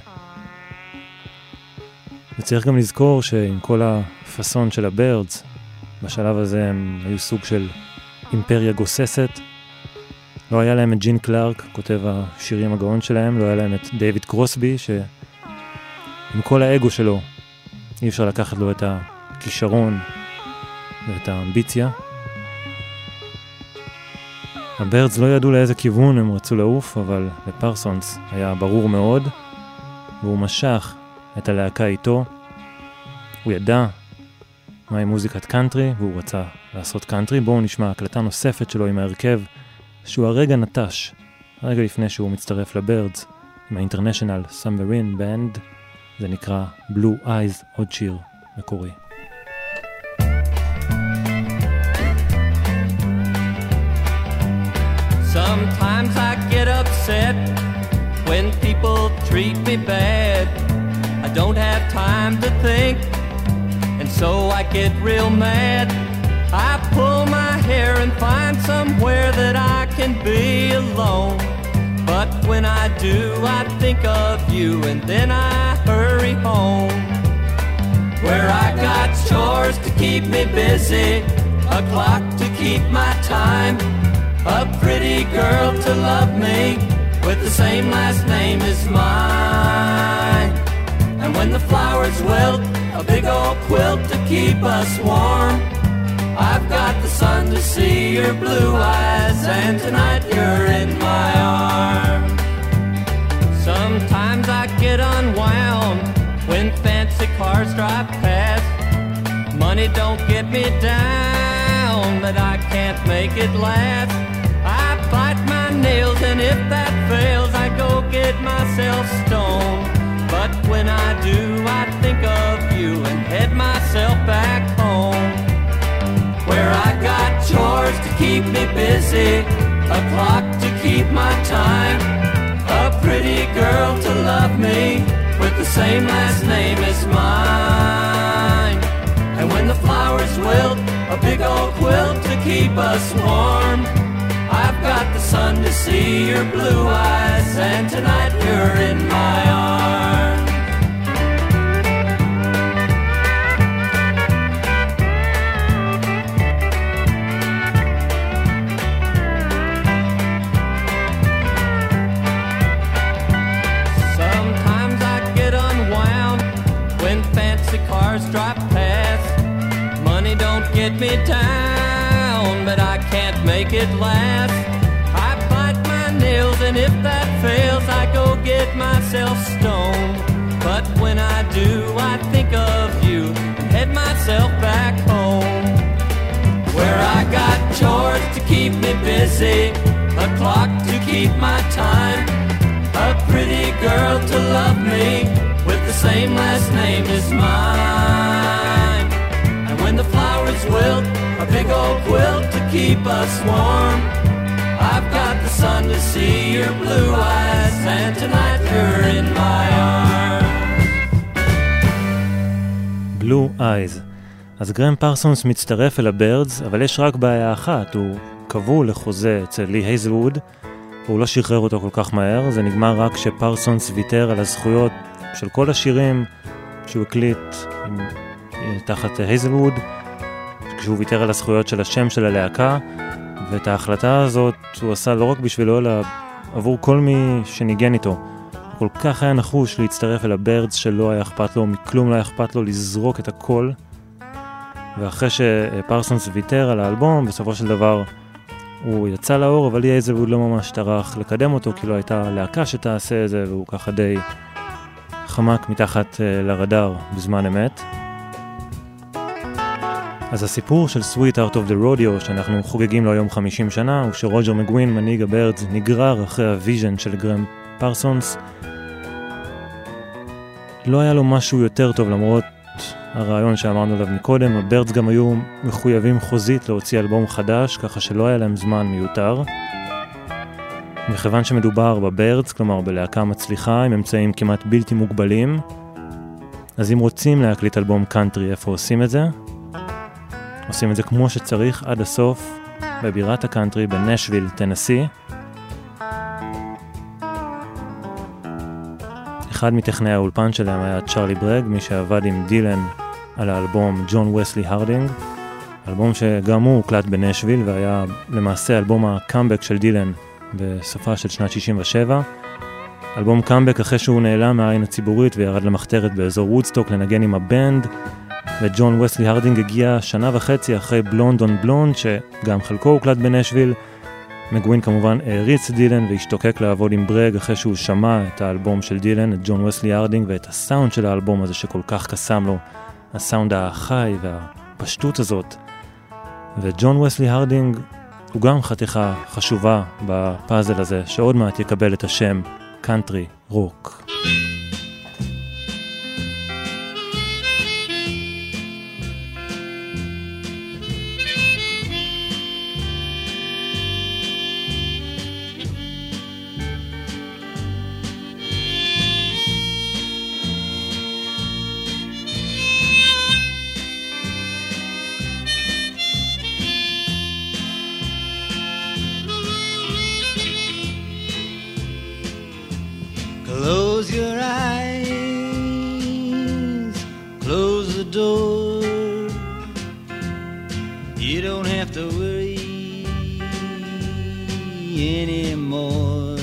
וצריך גם לזכור שעם כל הפסון של הבירדס, בשלב הזה הם היו סוג של אימפריה גוססת. לא היה להם את ג'ין קלארק, כותב השירים הגאון שלהם, לא היה להם את דיוויד קרוסבי, שעם כל האגו שלו אי אפשר לקחת לו את הכישרון ואת האמביציה. הבירדס לא ידעו לאיזה כיוון הם רצו לעוף, אבל לפרסונס היה ברור מאוד, והוא משך את הלהקה איתו. הוא ידע מהי מוזיקת קאנטרי, והוא רצה לעשות קאנטרי. בואו נשמע הקלטה נוספת שלו עם ההרכב, שהוא הרגע נטש, הרגע לפני שהוא מצטרף לבירדס, עם ה-International Submarine Band. זה נקרא Blue Eyes, עוד שיר מקורי. Sometimes I get upset when people treat me bad. I don't have time to think, and so I get real mad. I pull my hair and find somewhere that I can be alone. But when I do, I think of you, and then I hurry home, where I got chores to keep me busy, a clock to keep my time, a pretty girl to love me with the same last name as mine. And when the flowers wilt, a big old quilt to keep us warm. I've got the sun to see your blue eyes, and tonight you're in my arms. Sometimes I get unwound when fancy cars drive past. Money don't get me down, but I can't make it last. I bite my nails, and if that fails, I go get myself stoned. But when I do, I think of you and head myself back home, where I got chores to keep me busy, a clock to keep my time, a pretty girl to love me with the same last name as mine. And when the flowers wilt, a big old quilt to keep us warm. I've got the sun to see your blue eyes, and tonight you're in my arms. Sometimes I get unwound when fancy cars drive past. Money don't get me down, but I can't make it last. I bite my nails, and if that fails, I go get myself stoned. But when I do, I think of you and head myself back home, where I got chores to keep me busy, a clock to keep my time, a pretty girl to love me with the same last name as mine. And when the flowers wilt, a big old quilt to keep us warm. I've got the sun to see your blue eyes, and tonight you're in my arms. Blue Eyes. אז גרם פרסונס מצטרף אל הבירדס, אבל יש רק בעיה אחת, הוא קבול לחוזה אצל לי הייזלווד, והוא לא שחרר אותו כל כך מהר. זה נגמר רק שפרסונס ויתר על הזכויות של כל השירים שהוא הקליט עם תחת הייזלווד, כשהוא ויתר על הזכויות של השם של הלהקה, ואת ההחלטה הזאת הוא עשה לא רק בשבילו, אלא עבור כל מי שניגן איתו. כל כך היה נחוש להצטרף אל הבירדס שלא היה אכפת לו, מכלום לא היה אכפת לו לזרוק את הכל. ואחרי שפרסונס ויתר על האלבום, בסופו של דבר הוא יצא לאור, אבל הייזלווד לא ממש טרח לקדם אותו, כי לא הייתה להקה שתעשה את זה, והוא ככה די חמק מתחת לרדאר בזמן אמת. אז הסיפור של Sweet Heart of the Rodeo, שאנחנו חוגגים לו היום 50 שנה, הוא שרוג'ר מגווין, מנהיג הבירדס, נגרר אחרי הוויז'ן של גרם פרסונס. לא היה לו משהו יותר טוב, למרות הרעיון שאמרנו עליו מקודם. הבירדס גם היו מחויבים חוזית להוציא אלבום חדש, ככה שלא היה להם זמן מיותר. מכיוון שמדובר בבירדס, כלומר בלהקה מצליחה, עם אמצעים כמעט בלתי מוגבלים, אז אם רוצים להקליט אלבום קאנטרי, איפה עושים את זה? עושים את זה כמו שצריך עד הסוף, בבירת הקאנטרי בנשוויל, טנסי. אחד מטכנאי האולפן שלהם היה צ'רלי ברג, מי שעבד עם דילן על האלבום ג'ון וסלי הרדינג, אלבום שגם הוא הוקלט בנשוויל, והיה למעשה אלבום הקאמבק של דילן בסופה של שנת 67. אלבום קאמבק אחרי שהוא נעלם מהעין הציבורית וירד למחתרת באזור וודסטוק לנגן עם הבנד, וג'ון וסלי הרדינג הגיע שנה וחצי אחרי בלונד און בלונד, שגם חלקו הוקלט בנשוויל. מגווין כמובן העריץ דילן והשתוקק לעבוד עם ברג אחרי שהוא שמע את האלבום של דילן, את ג'ון וסלי הרדינג, ואת הסאונד של האלבום הזה שכל כך קסם לו, הסאונד החי והפשטות הזאת. וג'ון וסלי הרדינג הוא גם חתיכה חשובה בפאזל הזה, שעוד מעט יקבל את השם קאנטרי רוק. Close your eyes, close the door. You don't have to worry anymore.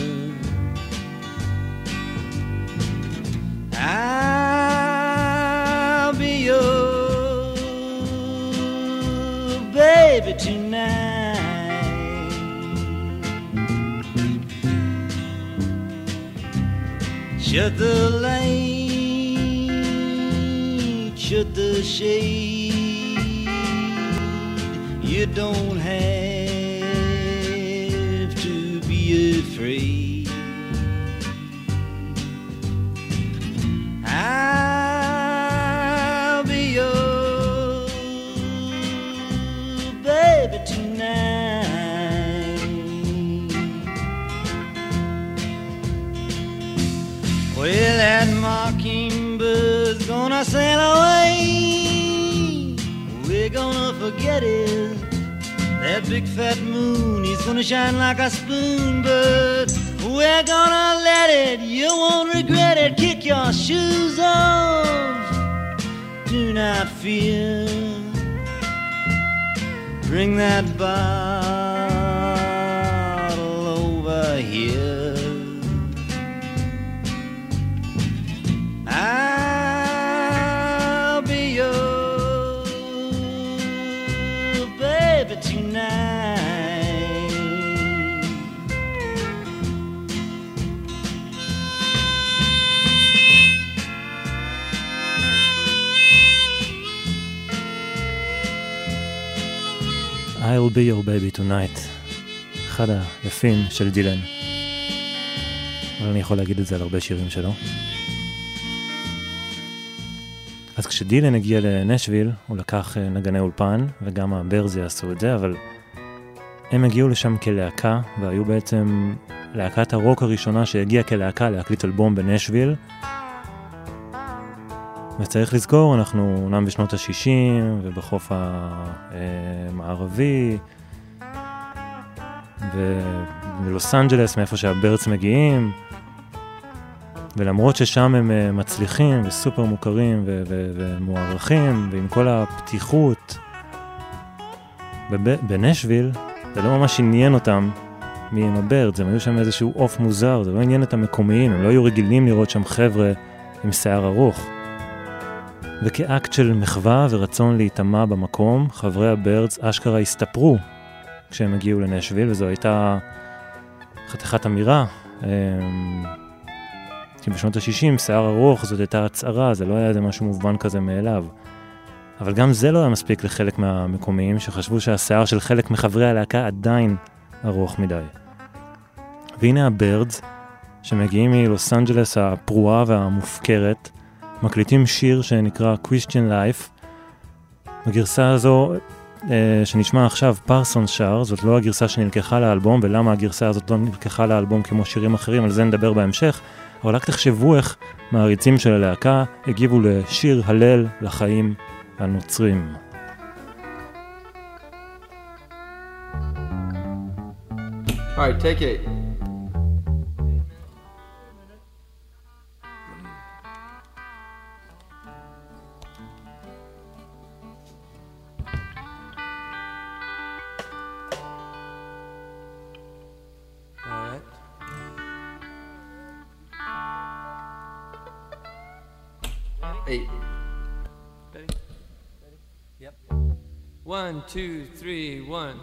I'll be your baby tonight. Shut the light, shut the shade. You don't have to be afraid. I'll be your baby tonight. Well, that mockingbird's gonna sail away. We're gonna forget it. That big fat moon, he's gonna shine like a spoon. But we're gonna let it, you won't regret it. Kick your shoes off, do not fear. Bring that bottle over here. I'll be your baby tonight. I'll be your baby tonight. אחד היפים של דילן. אבל אני יכול להגיד את זה על הרבה שירים שלו. אז כשדילן הגיע לנשוויל, הוא לקח נגני אולפן, וגם הברז יעשו את זה, אבל הם הגיעו לשם כלהקה, והיו בעצם להקת הרוק הראשונה שהגיעה כלהקה להקליט אלבום בנשוויל. וצריך לזכור, אנחנו אומנם בשנות ה-60, ובחוף המערבי, ובלוס אנג'לס, מאיפה שהברז מגיעים, ולמרות ששם הם מצליחים וסופר מוכרים ומוערכים, ועם כל הפתיחות, בנשוויל זה לא ממש עניין אותם מי עם הבירדס, הם היו שם איזשהו אוף מוזר, זה לא עניין את המקומיים, הם לא היו רגילים לראות שם חבר'ה עם שיער ארוך. וכאקט של מחווה ורצון להיטמע במקום, חברי הבירדס אשכרה הסתפרו כשהם הגיעו לנשוויל, וזו הייתה חתיכת אמירה, כי בשנות ה-60 שיער ארוך זאת הייתה הצערה, זה לא היה איזה משהו מובן כזה מאליו. אבל גם זה לא היה מספיק לחלק מהמקומיים שחשבו שהשיער של חלק מחברי הלהקה עדיין ארוך מדי. והנה הבירדס, שמגיעים מלוס אנג'לס הפרועה והמופקרת, מקליטים שיר שנקרא Christian Life. בגרסה הזו שנשמע עכשיו פרסון שר, זאת לא הגרסה שנלקחה לאלבום, ולמה הגרסה הזאת לא נלקחה לאלבום כמו שירים אחרים, על זה נדבר בהמשך, אבל רק תחשבו איך מעריצים של הלהקה הגיבו לשיר הלל לחיים הנוצרים. All right, take it. All right. Eight. Ready? Ready? Yep. 1, 2, 3, 1.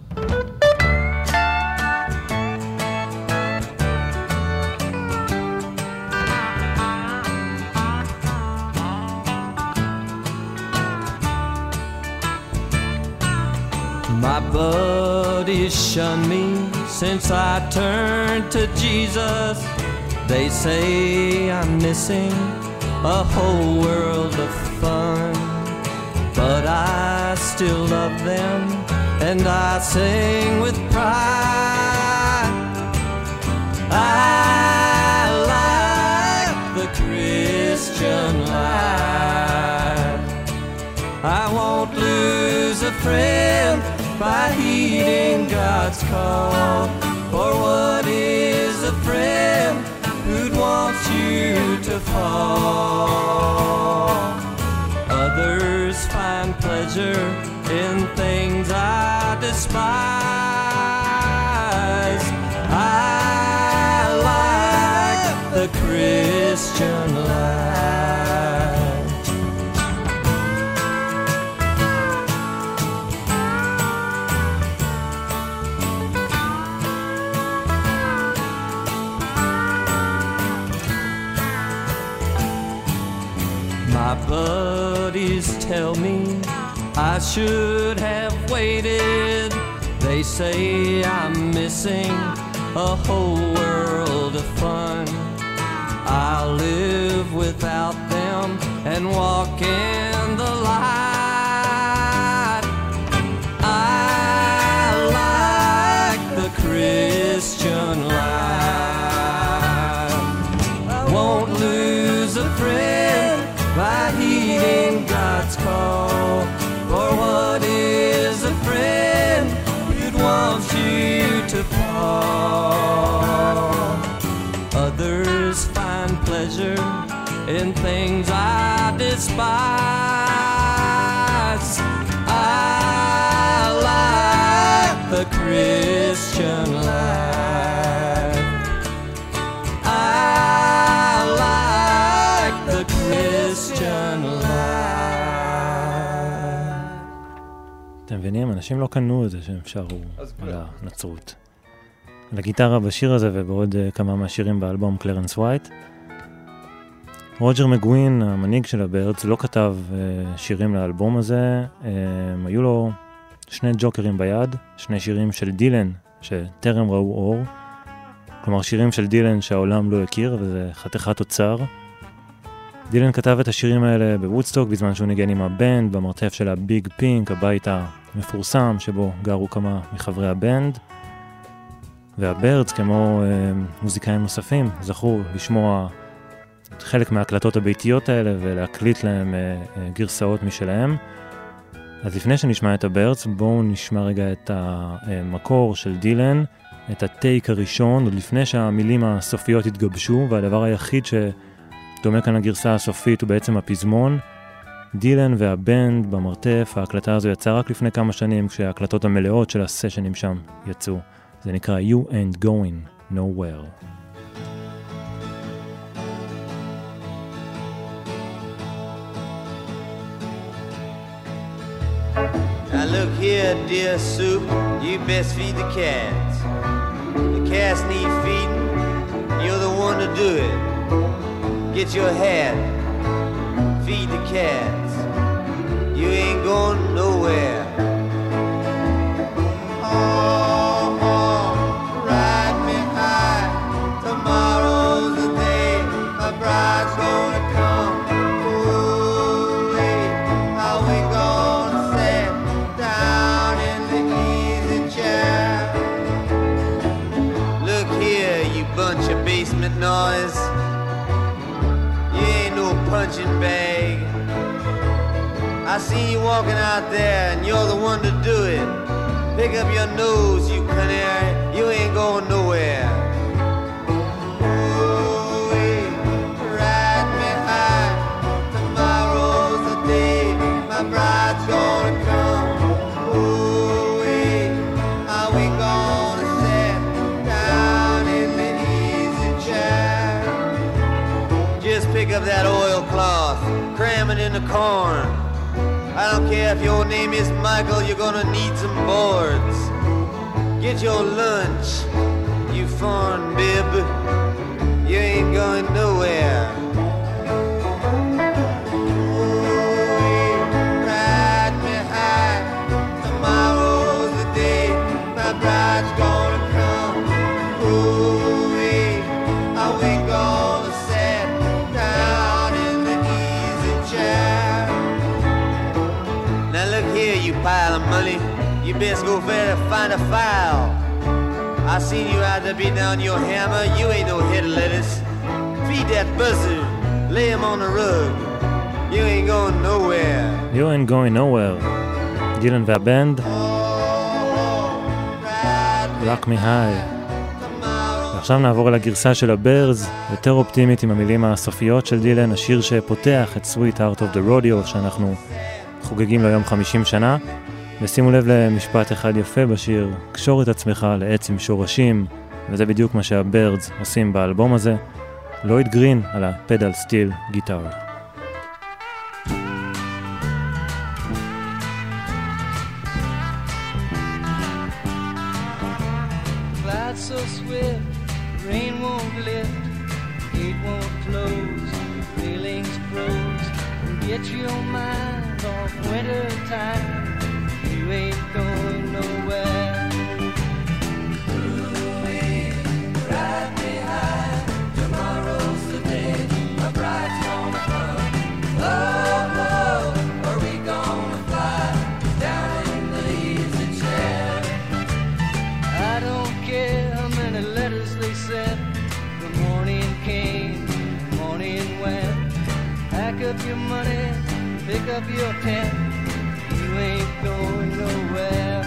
My buddies shun me since I turned to Jesus. They say I'm missing a whole world of fun, but I still love them and I sing with pride. I like the Christian life. I won't lose a friend by heeding God's call. For what is a friend who'd want you to fall? Others find pleasure in things I despise. I like the Christian life. My buddies tell me I should have waited. They say I'm missing a whole world of fun. I'll live without them and walk in the light. I like the Christian life. I won't lose a friend by heeding God's call. For what is a friend who'd want you to fall? Others find pleasure in things I despise. I like the Christian life. I like the Christian life. אתם מבינים? אנשים לא קנו את זה שהם שרו על הנצרות. על הגיטרה בשיר הזה ובעוד כמה מהשירים באלבום קלרנס ווייט. רוג'ר מגווין, המנהיג של הבירדס, לא כתב שירים לאלבום הזה. היו לו שני ג'וקרים ביד, שני שירים של דילן שטרם ראו אור. כלומר שירים של דילן שהעולם לא הכיר, וזה חתיכת אוצר. דילן כתב את השירים האלה בוודסטוק בזמן שהוא ניגן עם הבנד במרתף של הביג פינק, הבית המפורסם שבו גרו כמה מחברי הבנד. והבירדס, כמו מוזיקאים נוספים, זכו לשמוע חלק מההקלטות הביתיות האלה ולהקליט להם גרסאות משלהם. אז לפני שנשמע את הבירדס, בואו נשמע רגע את המקור של דילן, את הטייק הראשון, עוד לפני שהמילים הסופיות התגבשו, והדבר היחיד שדומה כאן לגרסה הסופית הוא בעצם הפזמון. דילן והבנד במרתף, ההקלטה הזו יצאה רק לפני כמה שנים, כשההקלטות המלאות של הסשנים שם יצאו. זה נקרא You Ain't Going Nowhere. Now look here, dear soup, you best feed the cats. The cats need feeding, you're the one to do it. Get your hat, feed the cats. You ain't going nowhere. Oh, oh, ride me high. Tomorrow's the day my bride's gonna come. Ooh, how we gonna sit down in the easy chair? Look here, you bunch of basement noise. You ain't no punching bag. I see you walking out there and you're the one to do it. Pick up your nose, you canary, you ain't going nowhere. Ooh-wee, ride me high. Tomorrow's the day my bride's gonna come. Ooh-wee, how we gonna sit down in the easy chair? Just pick up that oilcloth, cram it in the corn. I don't care if your name is Michael, you're gonna need some boards. Get your lunch, you foreign bib. You ain't going nowhere. Ooh, ride me high. Tomorrow's the day my bride's gonna come. Ooh, how we gonna sit down in the easy chair? Now look here, you pile of money, you best go find a file. I seen you out there beating down your hammer, you ain't no head of lettuce. Feed that buzzard, lay him on the rug. You ain't going nowhere. You ain't going nowhere. דילן והבנד. Rock me high. ועכשיו נעבור אל הגרסה של הברדס, יותר אופטימית עם המילים הסופיות של דילן, השיר שפותח את Sweet Heart of the Rodeo, שאנחנו חוגגים לו יום 50 שנה. ושימו לב למשפט אחד יפה בשיר, קשור את עצמך לעץ עם שורשים, וזה בדיוק מה שהברדס עושים באלבום הזה. לויד גרין על הפדל סטיל גיטר. Clouds so swift, rain won't lift, gate won't close, railings froze. Get your mind off winter time. You ain't going nowhere. Ooh-wee, ride me high. Tomorrow's the day my bride's gonna come. Oh, oh, are we gonna fly down in the easy chair? I don't care how many letters they sent. The morning came, the morning went. Pack up your money, pick up your tent. You ain't going nowhere.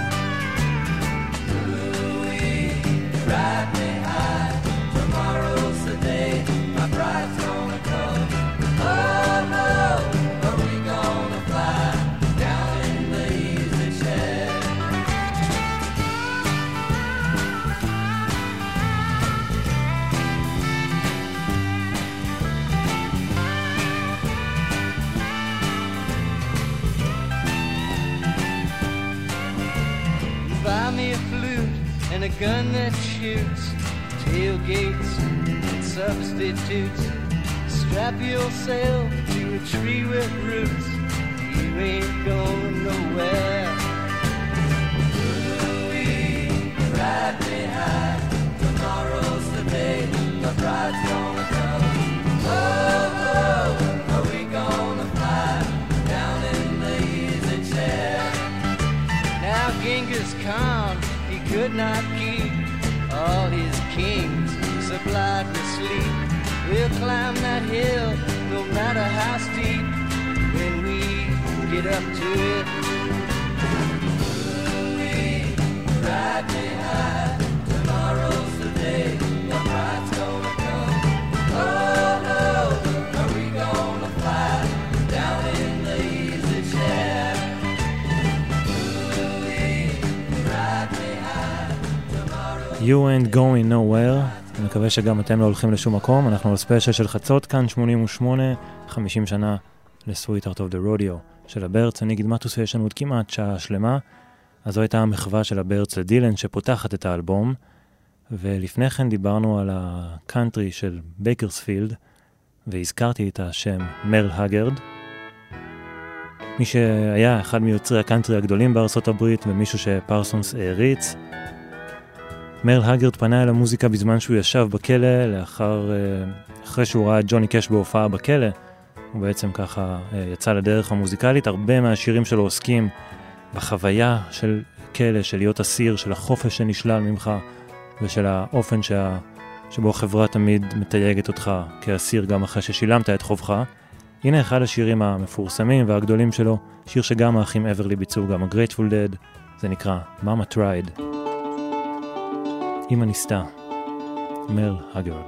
Ooh-wee, ride me high. Tomorrow's the day my bride's gonna come. Oh no, are we gonna fly down in the easy chair? Buy me a flute and a gun that shoots, tailgates and substitutes. Strap yourself to a tree with roots. You ain't going nowhere. Ooh-wee, ride me high. Tomorrow's the day my bride's gonna come. Oh, oh, are we gonna fly down in the easy chair? Now Genghis Khan, he could not keep all his kings supplied with sleep. We'll climb that hill no matter how steep when we get up to it. Ooh-wee, ride me high. Tomorrow You ain't going nowhere. אני מקווה שגם אתם לא הולכים לשום מקום. אנחנו בספיישל של חצות, כאן 88, 50 שנה ל-Sweetheart of the Rodeo של הברץ. אני אגיד מטוס, יש לנו עוד כמעט שעה שלמה. אז זו הייתה המחווה של הברץ לדילן שפותחת את האלבום. ולפני כן דיברנו על הקאנטרי של בייקרספילד, והזכרתי את השם מרל הגרד. מי שהיה אחד מיוצרי הקאנטרי הגדולים בארצות הברית, ומישהו שפרסונס העריץ. מרל הגרד פנה אל המוזיקה בזמן שהוא ישב בכלא, אחרי שהוא ראה את ג'וני קש בהופעה בכלא. הוא בעצם ככה יצא לדרך המוזיקלית. הרבה מהשירים שלו עוסקים בחוויה של כלא, של להיות אסיר, של החופש שנשלל ממך, ושל האופן שבו החברה תמיד מתייגת אותך כאסיר גם אחרי ששילמת את חובך. הנה אחד השירים המפורסמים והגדולים שלו, שיר שגם האחים אברלי ביצעו, גם ה-Grateful Dead, זה נקרא Mama Tried. אמא ניסתה, מרל הגרד.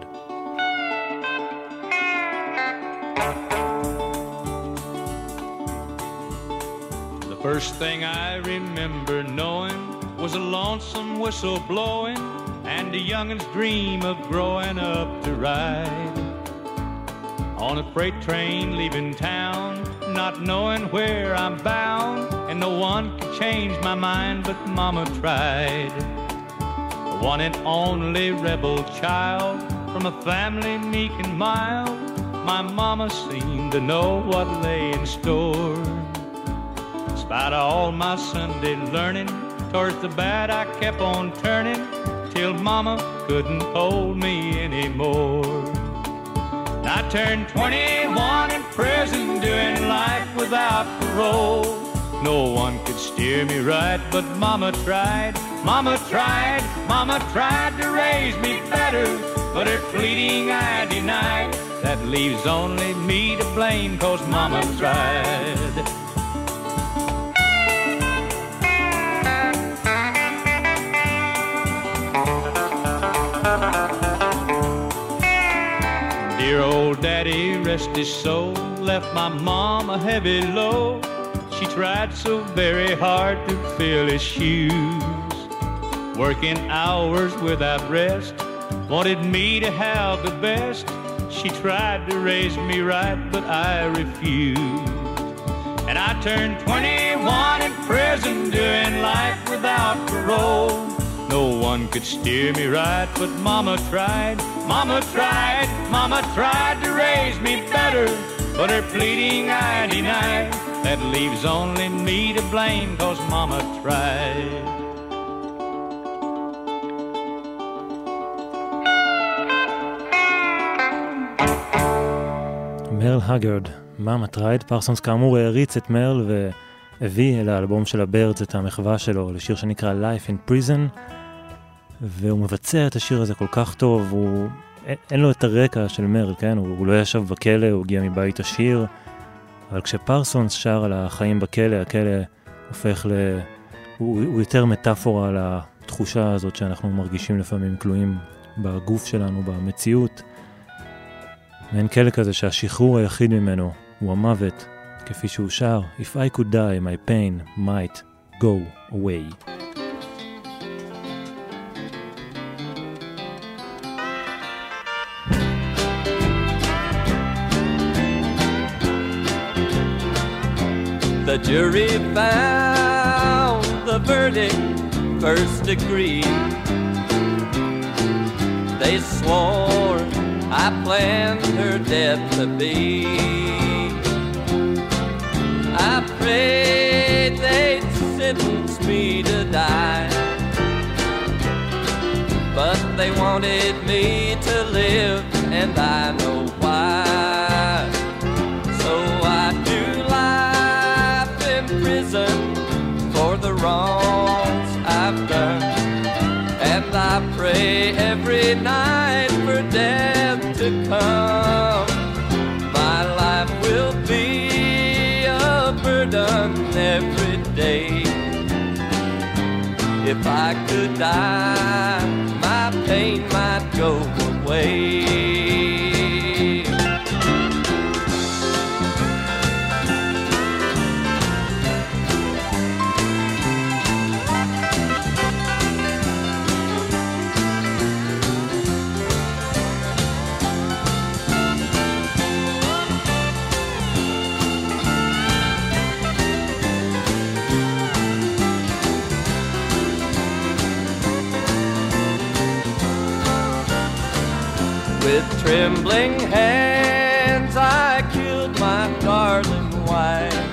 The first thing I remember knowing was a lonesome whistle blowing and a youngin's dream of growing up to ride on a freight train leaving town, not knowing where I'm bound, and no one could change my mind but Mama tried. The one and only rebel child from a family meek and mild, my mama seemed to know what lay in store. Despite all my Sunday learning, towards the bad I kept on turning, till Mama couldn't hold me anymore. I turned 21 in prison, doing life without parole. No one could steer me right, but Mama tried. Mama tried, Mama tried to raise me better, but her pleading I denied. That leaves only me to blame, 'cause Mama tried. Dear old daddy, rest his soul, left my mom a heavy load. She tried so very hard to fill his shoes, working hours without rest, wanted me to have the best. She tried to raise me right, but I refused. And I turned 21 in prison, doing life without parole. No one could steer me right, but Mama tried. Mama tried, Mama tried to raise me better, but her pleading I denied. That leaves only me to blame, 'cause Mama tried. מרל הגרד, Mama Tried. פרסונס כאמור העריץ את מרל והביא אל האלבום של הברדס את המחווה שלו לשיר שנקרא Life in Prison, והוא מבצע את השיר הזה כל כך טוב. אין לו את הרקע של מרל, כן? הוא לא ישב בכלא, הוא הגיע מבית עשיר, אבל כשפרסונס שר על החיים בכלא, הכלא הופך הוא יותר מטאפורה על התחושה הזאת שאנחנו מרגישים לפעמים כלואים בגוף שלנו, במציאות. ואין כלא כזה שהשחרור היחיד ממנו הוא המוות, כפי שהוא שר, If I could die, my pain might go away. The jury found the verdict first degree. They swore I planned her death to be. I prayed they'd sentence me to die, but they wanted me to live, and I know why. So I do life in prison for the wrongs I've done, and I pray every night for death to come. My life will be a burden every day. If I could die, my pain might go away. With trembling hands I killed my darling wife,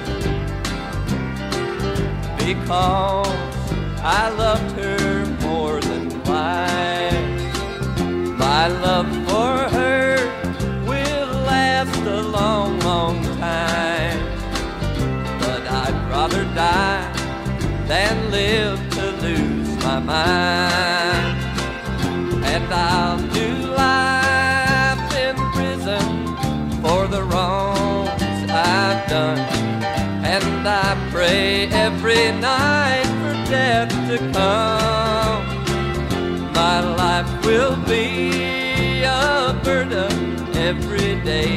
because I loved her more than life. My love for her will last a long, long time, but I'd rather die than live to lose my mind. And I'll do life in prison for the wrongs I've done, and I pray every night for death to come. My life will be a burden every day.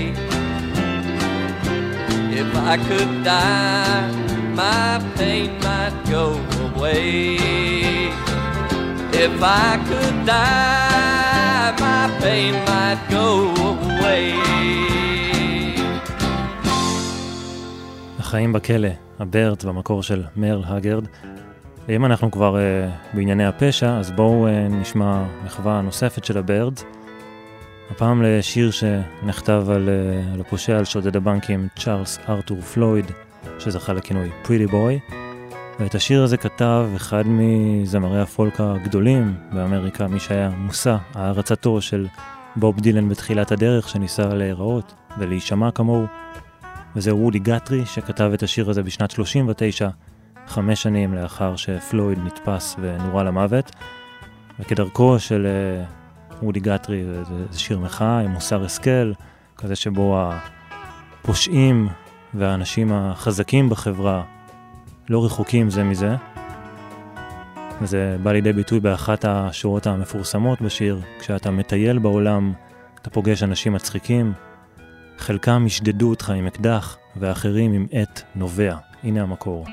If I could die, my pain might go away. If I could die, my pain might go away. החיים בכלא, הבירדס במקור של מרל הגרד. ואם אנחנו כבר בענייני הפשע, אז בואו נשמע מחווה נוספת של הבירדס. הפעם לשיר שנכתב על הפושע, על שודד הבנקים, צ'ארלס ארתור פלויד, שזכה לכינוי Pretty Boy. ואת השיר הזה כתב אחד מזמרי הפולק הגדולים באמריקה, מי שהיה מושא הערצתו של בוב דילן בתחילת הדרך, שניסה להיראות ולהישמע כמוהו. וזה וודי גטרי שכתב את השיר הזה בשנת 39, 5 שנים לאחר שפלויד נתפס ונורה למוות. וכדרכו של וודי גטרי, זה שיר מחאה עם מוסר השכל, כזה שבו הפושעים והאנשים החזקים בחברה לא רחוקים זה מזה. וזה בא לידי ביטוי באחת השורות המפורסמות בשיר. כשאתה מטייל בעולם, אתה פוגש אנשים מצחיקים, חלקם ישדדו אותך עם אקדח, ואחרים עם עת נובע. הנה המקור.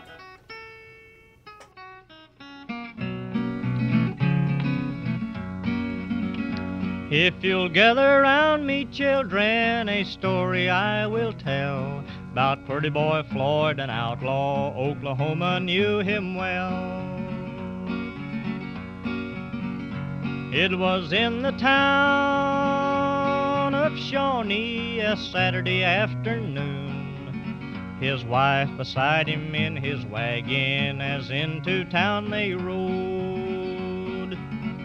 If you'll gather around me, children, a story I will tell about pretty boy Floyd, an outlaw. Oklahoma knew him well. It was in the town of Shawnee, a Saturday afternoon. His wife beside him in his wagon, as into town they rode.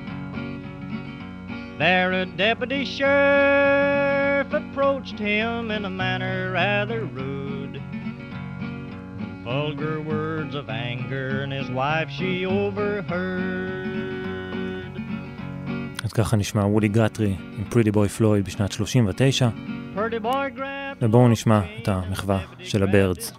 There a deputy sheriff approached him in a manner rather rude, with vulgar words of anger, and his wife she overheard. אז ככה נשמע וודי גטרי עם Pretty Boy Floyd בשנת 39. ובואו נשמע את המחווה של הבירדס.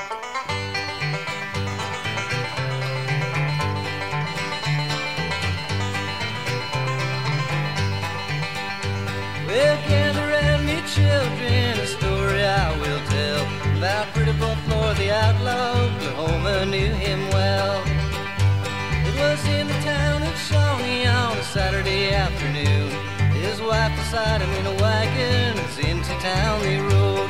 Well, gather round me, children, a story I will tell about Pretty Boy Floyd, the outlaw. Oklahoma knew him well. It was in the town of Shawnee on a Saturday afternoon. His wife beside him in a wagon, as into town they rode.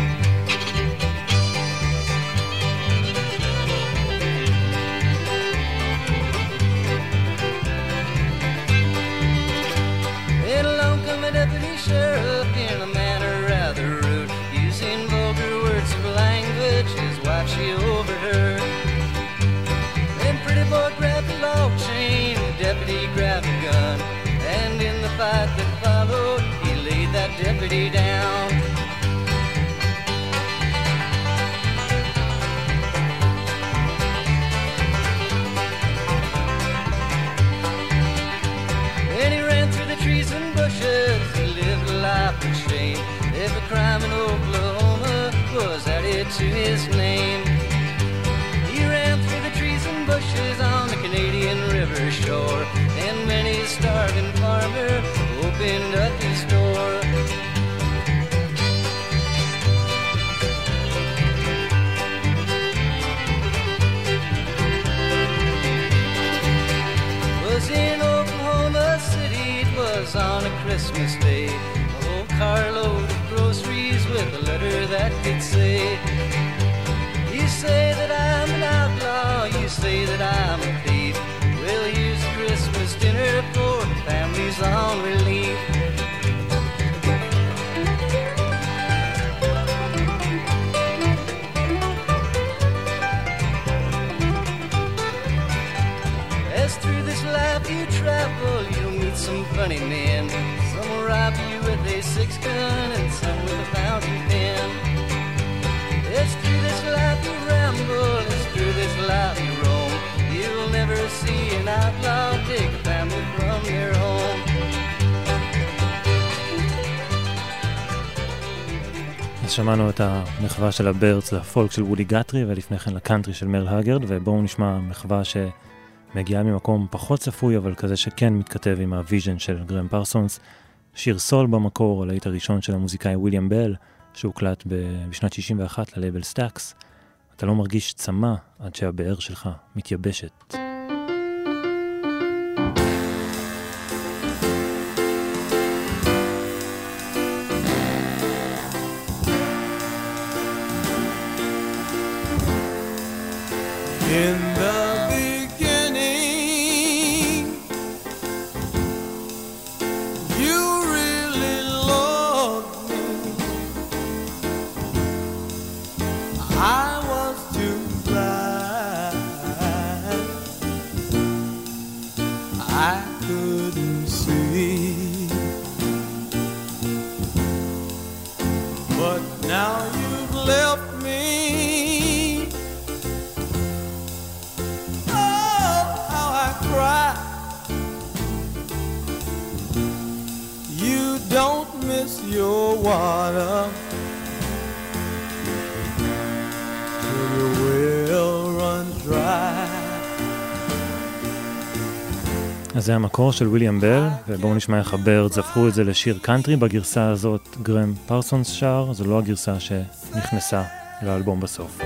And along come a deputy sheriff in a manner rather rude, using vulgar words of language his wife she overheard. Then Pretty Boy grabbed the log chain, the deputy grabbed a gun, and in the fight that followed, he laid that deputy down. And he ran through the trees and bushes, he lived a life of shame. Every crime in Oklahoma was added to his name. He ran through the trees and bushes on the Canadian River shore, and many a starving farmer opened up his store. Was in Oklahoma City, it was on a Christmas day, a whole carload of groceries with a letter that could say, you say that I'm an outlaw, you say that I'm a thief, well here's a Christmas dinner for families on relief. money men. Some will rob you with a 6-gun and some with a fountain pen. It's through this life you ramble, it's through this life you roam. You'll never see an outlaw take a family from their home. אז שמענו את המחווה של הבירדס לפולק של וודי גאטרי ולפני כן לקאנטרי של מרל הגרד, ובואו נשמע מחווה שמגיעה ממקום פחות צפוי אבל כזה שכן מתכתב עם הוויז'ן של גרם פרסונס. שיר סול במקור, הלהיט הראשון של המוזיקאי וויליאם בל שהוקלט בשנת 61 ללייבל סטאקס. אתה לא מרגיש צמא עד שהבאר שלך מתייבשת. In the beginning, you really loved me. I was too blind, I couldn't see. But now you've left me. You don't miss your water till your well runs dry. אז זה המקור של וויליאם בל, ובואו נשמע איך הבירדס הפכו את זה לשיר קאנטרי. בגרסה הזאת גרם פרסונס שר, זו לא הגרסה שנכנסה לאלבום בסוף.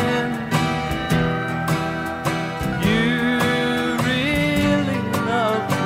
You really love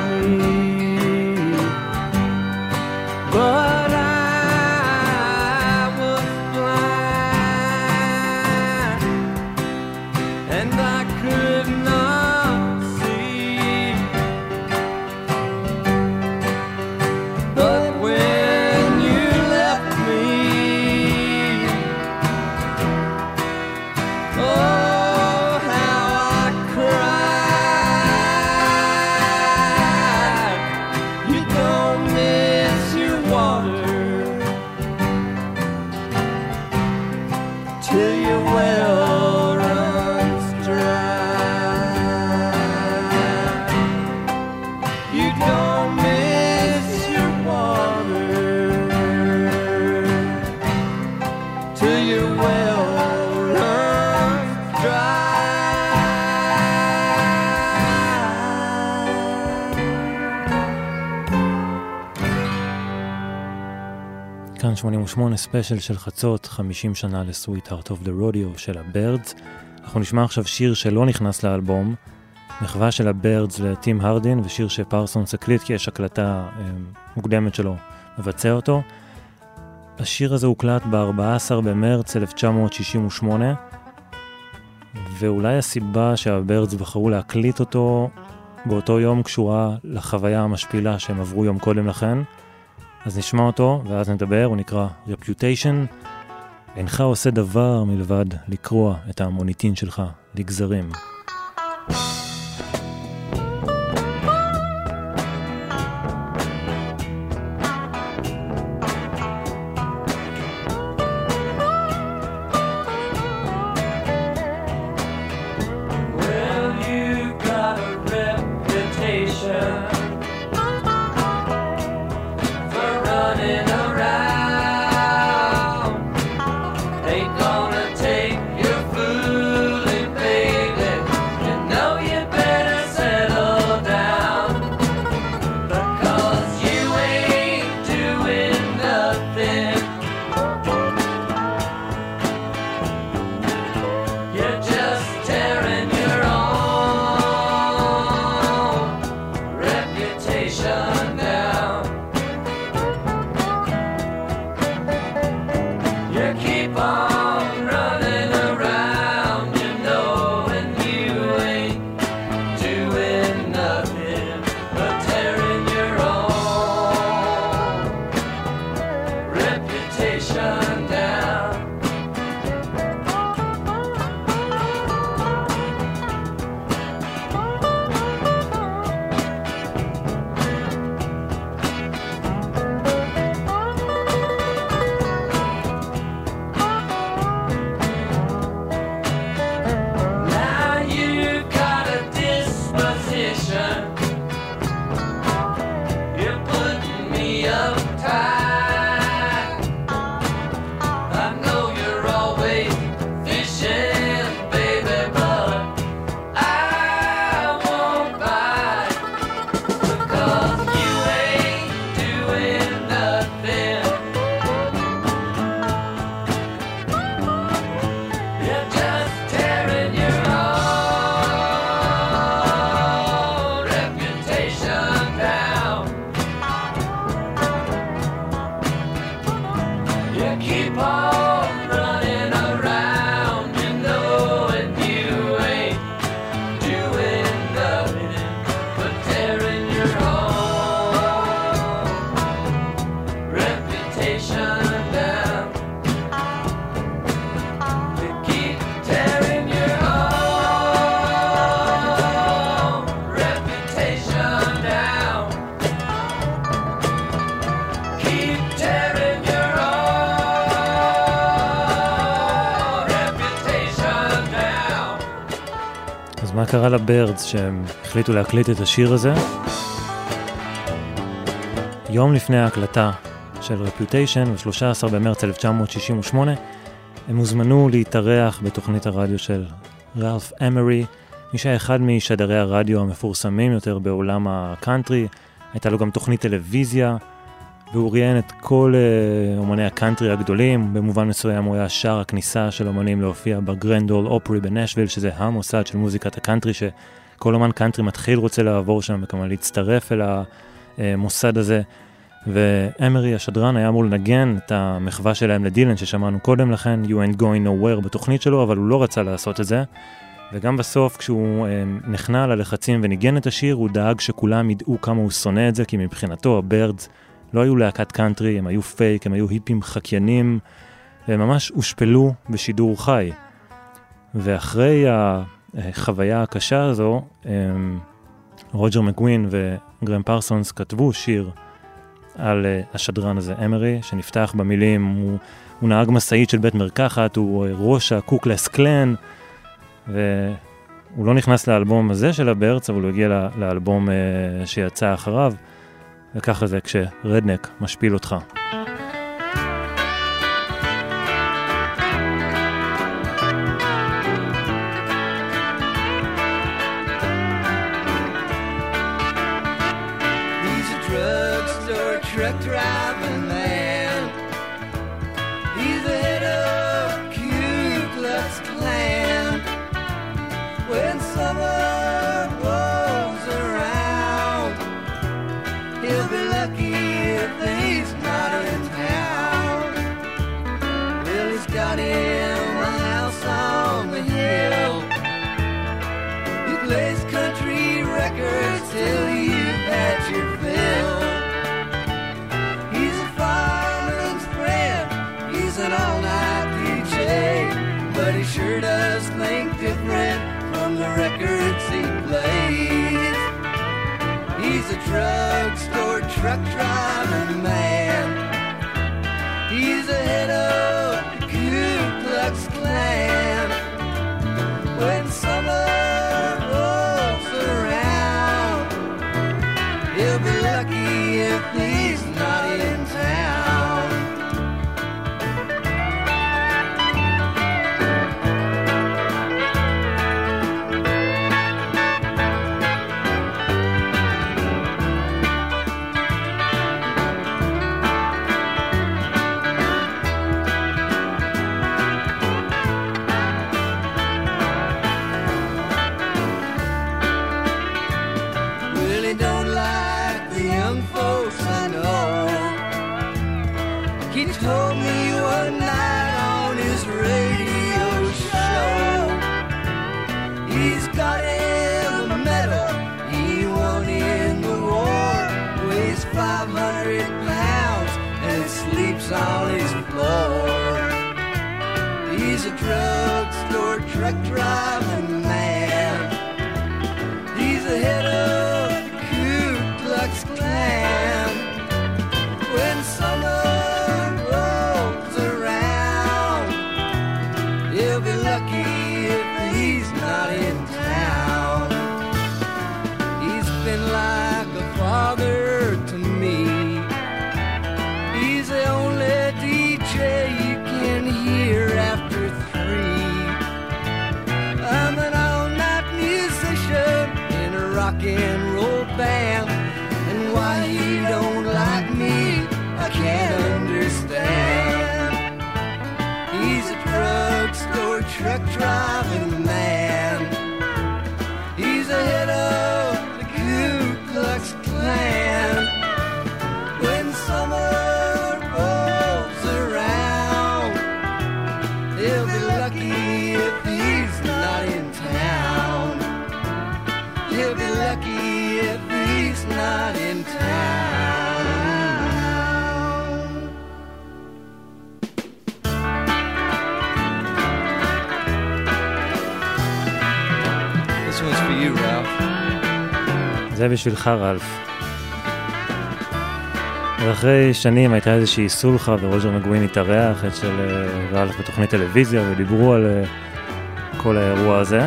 כאן 88 ספיישל של חצות, 50 שנה ל-Sweet Heart of the Rodeo של הבירדס. אנחנו נשמע עכשיו שיר שלא נכנס לאלבום, מחווה של הבירדס לטים הרדין, ושיר שפרסונס הקליט כי יש הקלטה מוקדמת שלו מבצע אותו. השיר הזה הוקלט ב-14 במרץ 1968, ואולי הסיבה שהבירדס בחרו להקליט אותו באותו יום קשורה לחוויה המשפילה שהם עברו יום קודם לכן. אז נשמע אותו ואז נדבר. הוא נקרא Reputation. אינך עושה דבר מלבד לקרוע את המוניטין שלך לגזרים. מה קרה לבירדס שהם החליטו להקליט את השיר הזה? יום לפני ההקלטה של Reputation, ב-13 במרץ 1968, הם הוזמנו להתארח בתוכנית הרדיו של רלף אמרי, מי שהיה אחד משדרי הרדיו המפורסמים יותר בעולם הקאנטרי. הייתה לו גם תוכנית טלוויזיה, והוא ראיין את כל אומני הקאנטרי הגדולים. במובן מסוים הוא היה שער הכניסה של אומנים להופיע בגרנד אול אופרי בנשוויל, שזה המוסד של מוזיקת הקאנטרי, שכל אומן קאנטרי מתחיל רוצה לעבור שם וכמובן להצטרף אל המוסד הזה. ואמרי השדרן היה אמור לנגן את המחווה שלהם לדילן ששמענו קודם לכן, You Ain't Going Nowhere בתוכנית שלו, אבל הוא לא רצה לעשות את זה. וגם בסוף כשהוא נכנע ללחצים וניגן את השיר, הוא דאג שכולם ידעו כמה הוא שונא את זה, כי מבחינתו הבירדס לא היו להקת קאנטרי, הם היו פייק, הם היו היפים חקיינים, והם ממש הושפלו בשידור חי. ואחרי החוויה הקשה הזו, רוג'ר מקווין וגרם פרסונס כתבו שיר על השדרן הזה, אמרי, שנפתח במילים, הוא נהג מסעית של בית מרקחת, הוא ראש הקוקלס קלן, והוא לא נכנס לאלבום הזה של הבירדס, אבל הוא הגיע לאלבום שיצא אחריו, וככה זה כשרדנק משפיל אותך. He's a drugstore truck driving man. drugstore truck driving man. He's the head of the Ku Klux Klan. When summer rolls around, he'll be lucky if he's not in town. Really don't like the young folks I know. He told me one night on his radio show, he's got him a medal he won in the war. Weighs 500 pounds and sleeps on his floor. He's a drugstore truck driving man. He's the head of the Ku Klux Klan. When summer rolls around, he'll be lucky if he's not in town. He's been like a father to me. He's the only DJ you can hear after 3. I'm an all-night musician in a rock and roll band, and why he don't like me I can't understand. He's a drugstore truck driving man. He's the head of the Ku Klux Klan. When summer rolls around, he'll be lucky if he's not in town. He'll be lucky if he's not in town. This one's for you, Ralph. זה בשבילך, רלף. ואחרי שנים הייתה איזושהי סולחה ורוג'ר מגווין התארח את של רלף בתוכנית טלוויזיה ודיברו על כל האירוע הזה.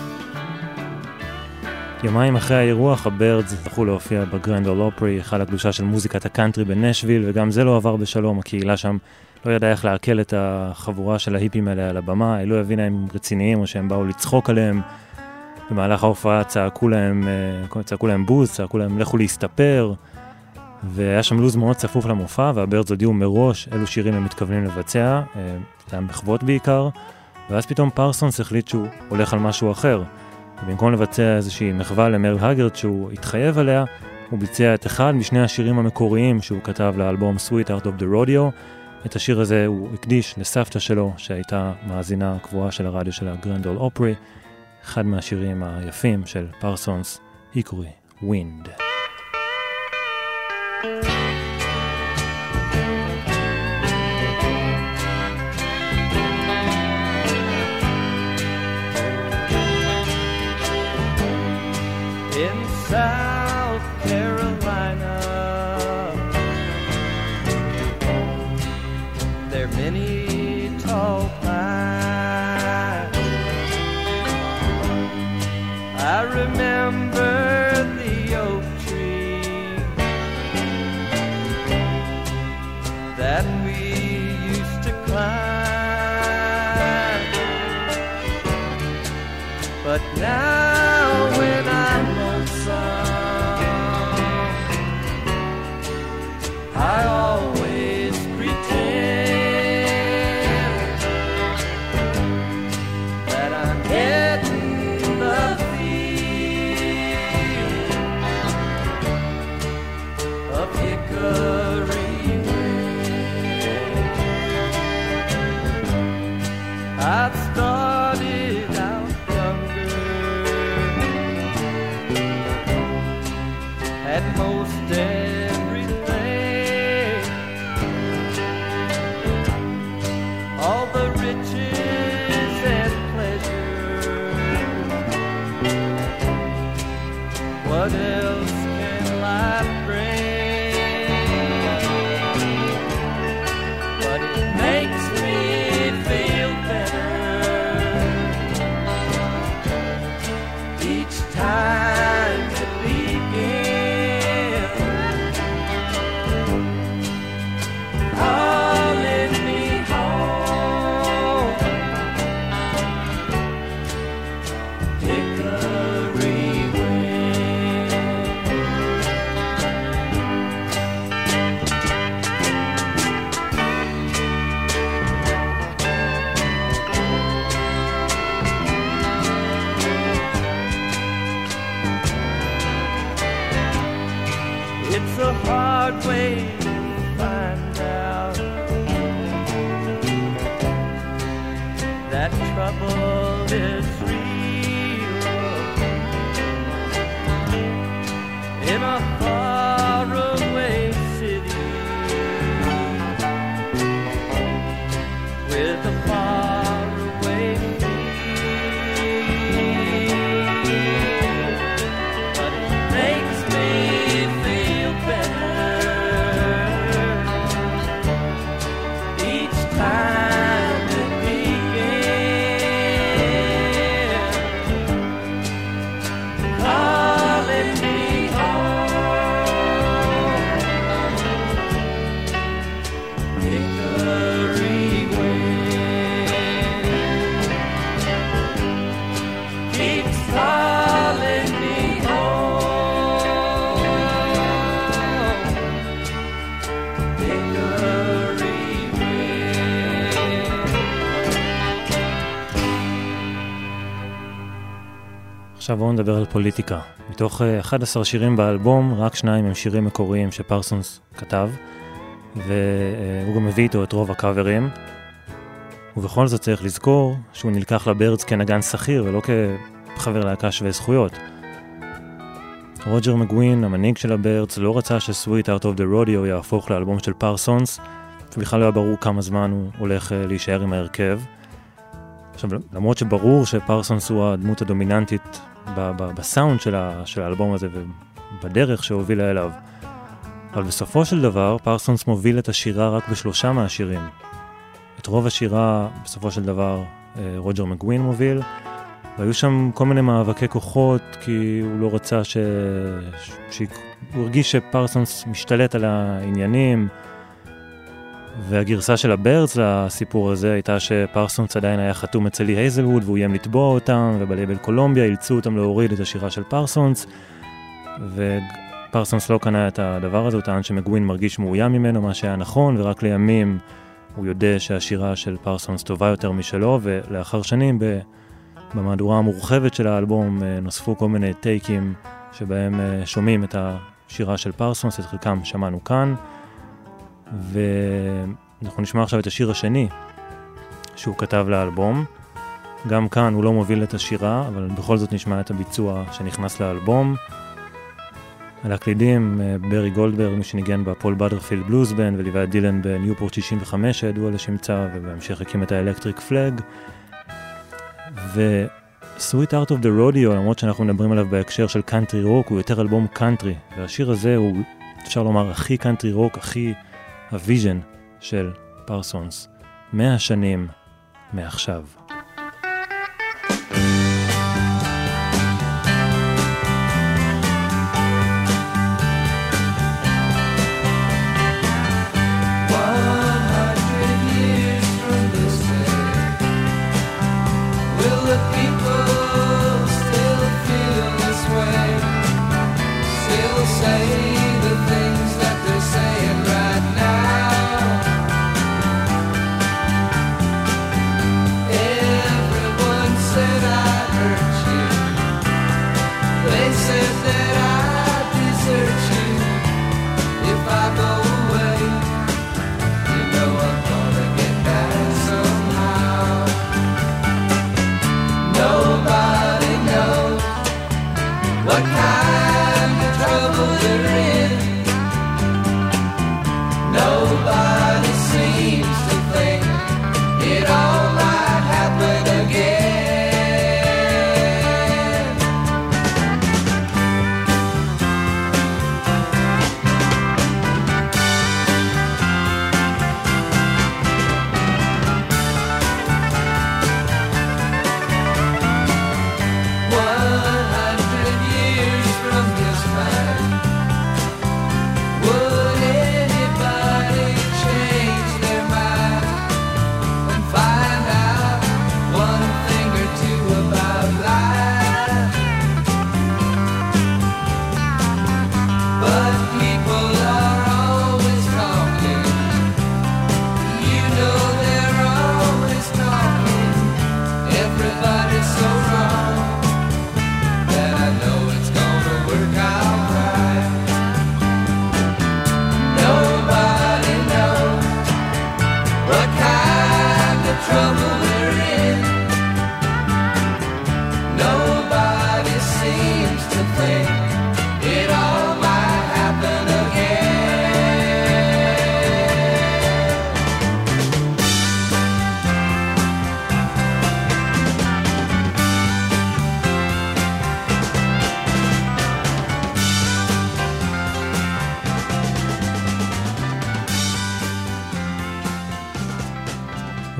יומיים אחרי האירוח, הבירדס זכו להופיע בגרנד אול אופרי, היכל הקדושה של מוזיקת הקאנטרי בנשוויל, וגם זה לא עבר בשלום. הקהילה שם לא ידעה איך לעכל את החבורה של ההיפים האלה על הבמה, היא לא הבינה אם רציניים או שהם באו לצחוק עליהם. במהלך ההופעה צעקו להם בוז, צעקו להם לכו להסתפר, והיה שם לוז מאוד צפוף למופע, והבירדס הודיעו מראש אילו שירים הם מתכוונים לבצע, זה היה מחוות בעיקר, ואז פתאום פרסונס החליט שהוא הולך על משהו אחר. ובמקום לבצע איזושהי מחווה למרל הגרד שהוא התחייב עליה, הוא ביצע את אחד משני השירים המקוריים שהוא כתב לאלבום Sweet Out of the Rodeo. את השיר הזה הוא הקדיש לסבתא שלו, שהייתה מאזינה קבועה של הרדיו של הגרנד אול אופרי, אחד מהשירים היפים של פרסונס, היקורי, ווינד. In South Carolina, there are many tall pines. I remember the oak tree that we used to climb, but now when I'm I always pretend that I'm getting the feel of hickory wind. I've started out younger at most everything, all the riches and pleasure. What else can life the hard way to find out that trouble is real in a faraway city with a faraway feel, but it makes me feel better each time it begins, calling me home, Hickory wind keeps calling me home, Hickory עכשיו בואו נדבר על פוליטיקה. מתוך 11 שירים באלבום, רק 2 הם שירים מקוריים שפרסונס כתב, והוא גם מביא איתו את רוב הקאברים, ובכל זאת צריך לזכור שהוא נלקח לבירדס כנגן שכיר ולא כחבר להקה שווה זכויות. רוג'ר מגווין, המנהיג של הבירדס, לא רצה שסוויט Out of the Rodeo יהפוך לאלבום של פרסונס, ובכלל לא היה ברור כמה זמן הוא הולך להישאר עם ההרכב. עכשיו, למרות שברור שפרסונס הוא הדמות הדומיננטית בסאונד של האלבום הזה ובדרך שהובילה אליו, אבל בסופו של דבר פרסונס מוביל את השירה רק ב3 מהשירים. את רוב השירה בסופו של דבר רוג'ר מגווין מוביל, והיו שם כל מיני מאבקי כוחות, כי הוא לא רצה הוא הרגיש שפרסונס משתלט על העניינים, והגרסה של הבירדס לסיפור הזה הייתה שפרסונס עדיין היה חתום אצל לי הייזלווד, והוא איים לתבוע אותם, ובלייבל קולומביה אילצו אותם להוריד את השירה של פרסונס, ופרסונס לא קנה את הדבר הזה, הוא טען שמגווין מרגיש מאוים ממנו, מה שהיה נכון, ורק לימים הוא יודע שהשירה של פרסונס טובה יותר משלו, ולאחר שנים במהדורה המורחבת של האלבום נוספו כל מיני טייקים שבהם שומעים את השירה של פרסונס, את חלקם שמענו כאן, ואנחנו נשמע עכשיו את השיר השני שהוא כתב לאלבום. גם כאן הוא לא מוביל את השירה, אבל בכל זאת נשמע את הביצוע שנכנס לאלבום. על הקלידים ברי גולדברג, מי שניגן בפול בדרפילד בלוז בנד, וליווה את דילן בניופורט 65 שידוע לשמצה, ובהמשך הקים את האלקטריק פלאג. ו-Sweet Out of the Rodeo, למרות שאנחנו מדברים עליו בהקשר של קאנטרי רוק, הוא יותר אלבום קאנטרי, והשיר הזה הוא, אפשר לומר, הכי קאנטרי רוק, הכי הוויז'ן של פרסונס. 100 שנים מעכשיו.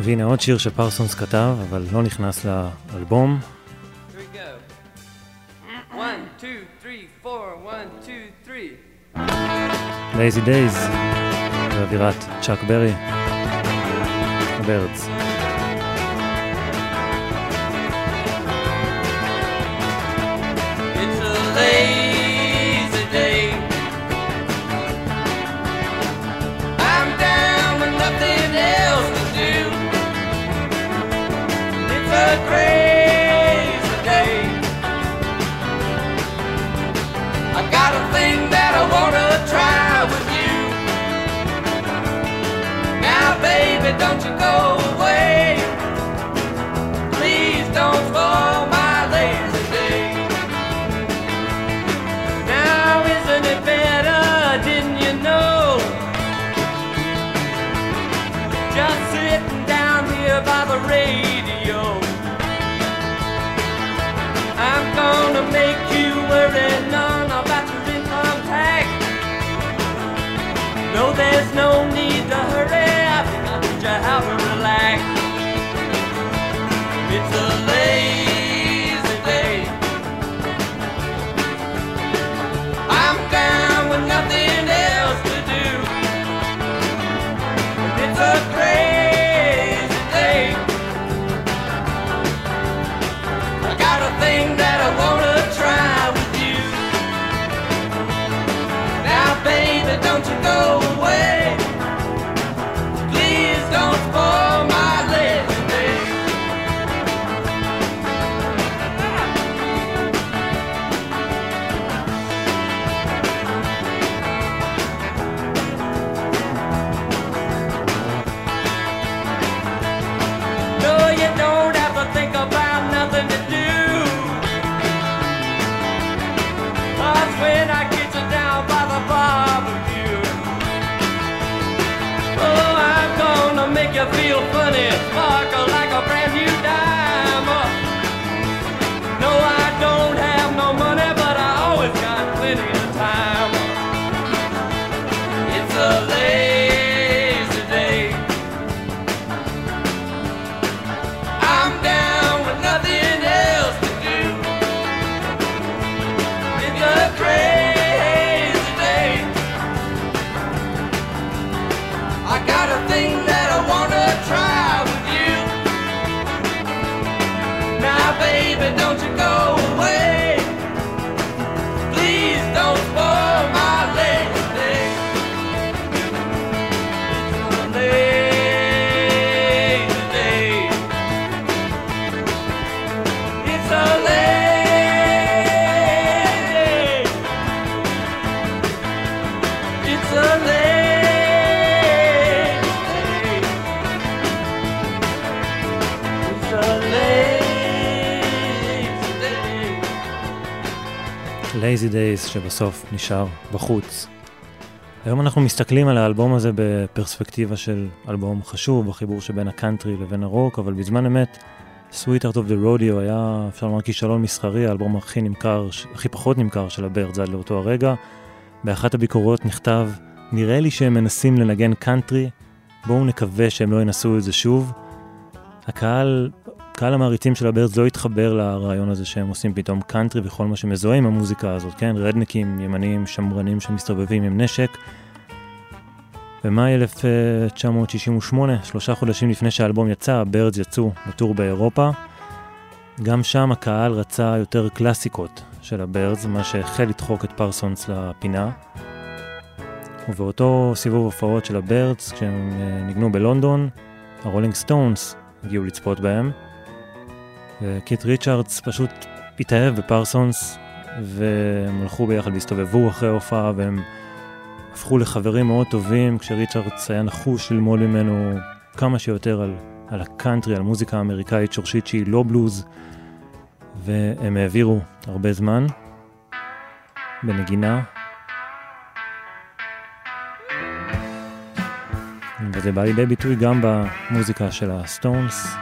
והנה עוד שיר שפרסונס כתב, אבל לא נכנס לאלבום. Lazy Days, באווירת צ'אק ברי, הבירדס. It's a lazy day. I'm down with nothing else to do. It's a crazy day. I got a thing that I wanna try with you. Now baby, don't you go away. Please don't spoil my lazy day. Now isn't it better, didn't you know? Just sitting down here by the radio. I'm gonna make you worry none about your income tax. No, there's no need to hurry, I'll teach you how to relax. It's a lazy day. I'm down with nothing else to do. It's a crazy day. I got a thing that I wanna try with you. Now baby, don't you go away. Please don't spoil my lazy day. No, you don't have to think about nothing to do. 'Cause when I get you down by the barbecue, oh, I'm gonna make you feel funny, sparkle like a brand new dime. No, I don't have no money, but I always got plenty of time. It's a lazy day. I'm down with nothing else to do. It's a crazy day. I got a thing that I wanna try with you. Now baby, don't you go away. Please don't spoil my lazy day. It's a lazy day. It's a lazy. It's a lazy. It's a lazy day. Lazy Days שבסוף נשאר בחוץ. היום אנחנו מסתכלים על האלבום הזה בפרספקטיבה של אלבום חשוב, בחיבור שבין הקאנטרי לבין הרוק, אבל בזמן אמת Sweetheart of the Rodeo היה, אפשר לומר, כישלון מסחרי, האלבום הכי פחות נמכר של הבירדס עד לאותו הרגע. באחת הביקורות נכתב, נראה לי שהם מנסים לנגן קאנטרי, בואו נקווה שהם לא ינסו את זה שוב. קהל המעריצים של הבירדס לא התחבר לרעיון הזה שהם עושים פתאום קאנטרי וכל מה שמזוהה עם המוזיקה הזאת, כן? רדניקים, ימנים, שמרנים שמסתובבים עם נשק. במאי 1968, 3 חודשים לפני שהאלבום יצא, הבירדס יצאו לטור באירופה. גם שם הקהל רצה יותר קלאסיקות של הבירדס, מה שהחל לדחוק את פרסונס לפינה. ובאותו סיבוב הופעות של הבירדס, כשהם ניגנו בלונדון, הרולינג סטונס הגיעו לצפות בהם. וקית' ריצ'רדס פשוט התאהב בפרסונס, והם הלכו ביחד והסתובבו אחרי ההופעה, והם הפכו לחברים מאוד טובים, כשריצ'רדס היה נחוש ללמוד ממנו כמה שיותר על הקאנטרי, על מוזיקה האמריקאית שורשית שהיא לא בלוז, והם העבירו הרבה זמן בנגינה. וזה בא לידי ביטוי גם במוזיקה של הסטונס.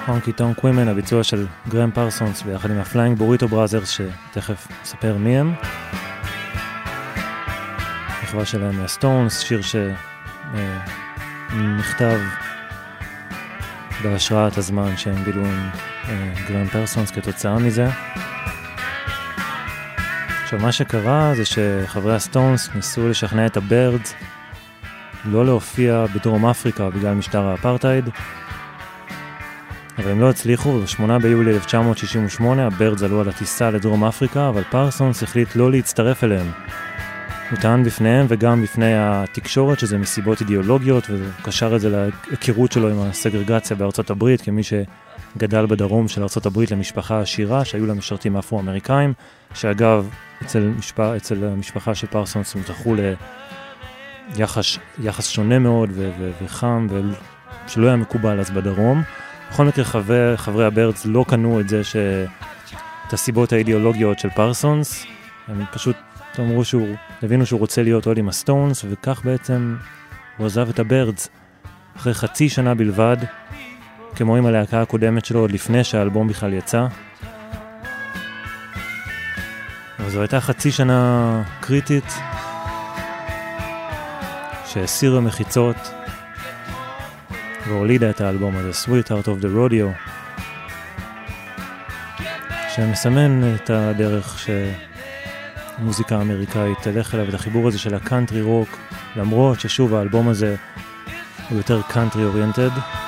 הונקי טונק ווימן, הביצוע של גרם פרסונס ביחד עם הפליינג בוריטו בראזרס, שתכף אספר מי הם. מחווה שלהם מהסטונס, שיר שנכתב בהשראת הזמן שהם בילו עם גרם פרסונס כתוצאה מזה. עכשיו מה שקרה זה שחברי הסטונס ניסו לשכנע את הבירדס לא להופיע בדרום אפריקה בגלל משטר האפרטהייד, אבל הם לא הצליחו, וב-8 ביולי 1968 הבירדס עלו על הטיסה לדרום אפריקה, אבל פרסונס החליט לא להצטרף אליהם. הוא טען בפניהם וגם בפני התקשורת שזה מסיבות אידיאולוגיות, והוא קשר את זה להיכרות שלו עם הסגרגציה בארצות הברית, כמי שגדל בדרום של ארצות הברית למשפחה עשירה, שהיו לה משרתים אפרו-אמריקאים, שאגב, אצל המשפחה של פרסונס הם זכו ליחס שונה מאוד וחם, שלא היה מקובל אז בדרום. בכל מקרה חברי הבירדס לא קנו את זה את הסיבות האידיאולוגיות של פרסונס, הם פשוט הבינו שהוא רוצה להיות עוד עם הסטונס, וכך בעצם הוא עזב את הבירדס אחרי חצי שנה בלבד, כמו עם הלהקה הקודמת שלו עוד לפני שהאלבום בכלל יצא. אבל זו הייתה חצי שנה קריטית שהסירה מחיצות והולידה את האלבום הזה, Sweet Heart of the Rodeo, שמסמן את הדרך שמוזיקה אמריקאית תלך אליו, את החיבור הזה של הקאנטרי רוק, למרות ששוב האלבום הזה הוא יותר קאנטרי אוריינטד.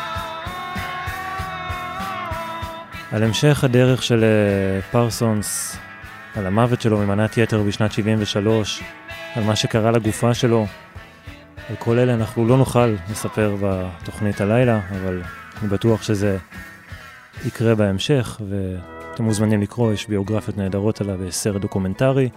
על המשך הדרך של פרסונס, על המוות שלו ממנת יתר בשנת 73, על מה שקרה לגופה שלו, על כל אלה אנחנו לא נוכל לספר בתוכנית הלילה, אבל אני בטוח שזה יקרה בהמשך, ואתם מוזמנים לקרוא, יש ביוגרפיות נהדרות עליו בסרט דוקומנטרי.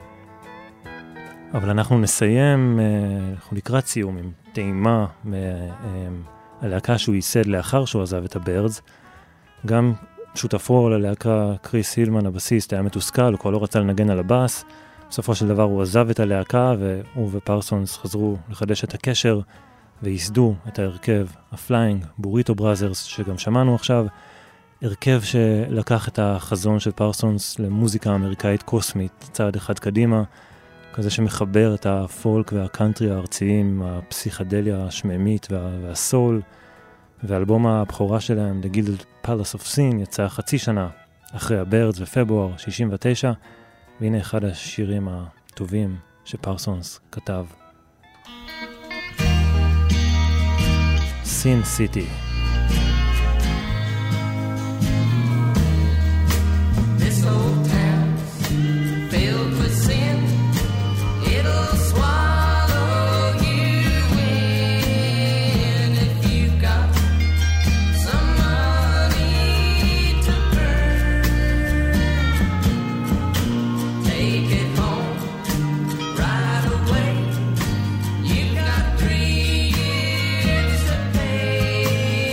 אבל אנחנו נסיים, אנחנו לקראת סיום עם טעימה מהלהקה שהוא ייסד לאחר שהוא עזב את הבירדס. גם שותפו ללהקה קריס הילמן, הבסיסט, היה מתוסכל, הוא כבר לא רצה לנגן על הבאס. בסופו של דבר הוא עזב את הלהקה, והוא ופרסונס חזרו לחדש את הקשר, וייסדו את ההרכב הפליינג בוריטו בראזרס, שגם שמענו עכשיו, הרכב שלקח את החזון של פרסונס למוזיקה אמריקאית קוסמית, צעד אחד קדימה, כזה שמחבר את הפולק והקאנטרי הארציים, הפסיכדליה השממית והסול, ואלבום הבכורה שלהם, The Gilded Palace of Sin, יצא חצי שנה אחרי הבירדס בפברואר 69, והנה אחד השירים הטובים שפרסונס כתב. Sin City. This old town filled with sin, it'll swallow you in if you've got some money to burn. Take it home right away. You've got 3 years to pay.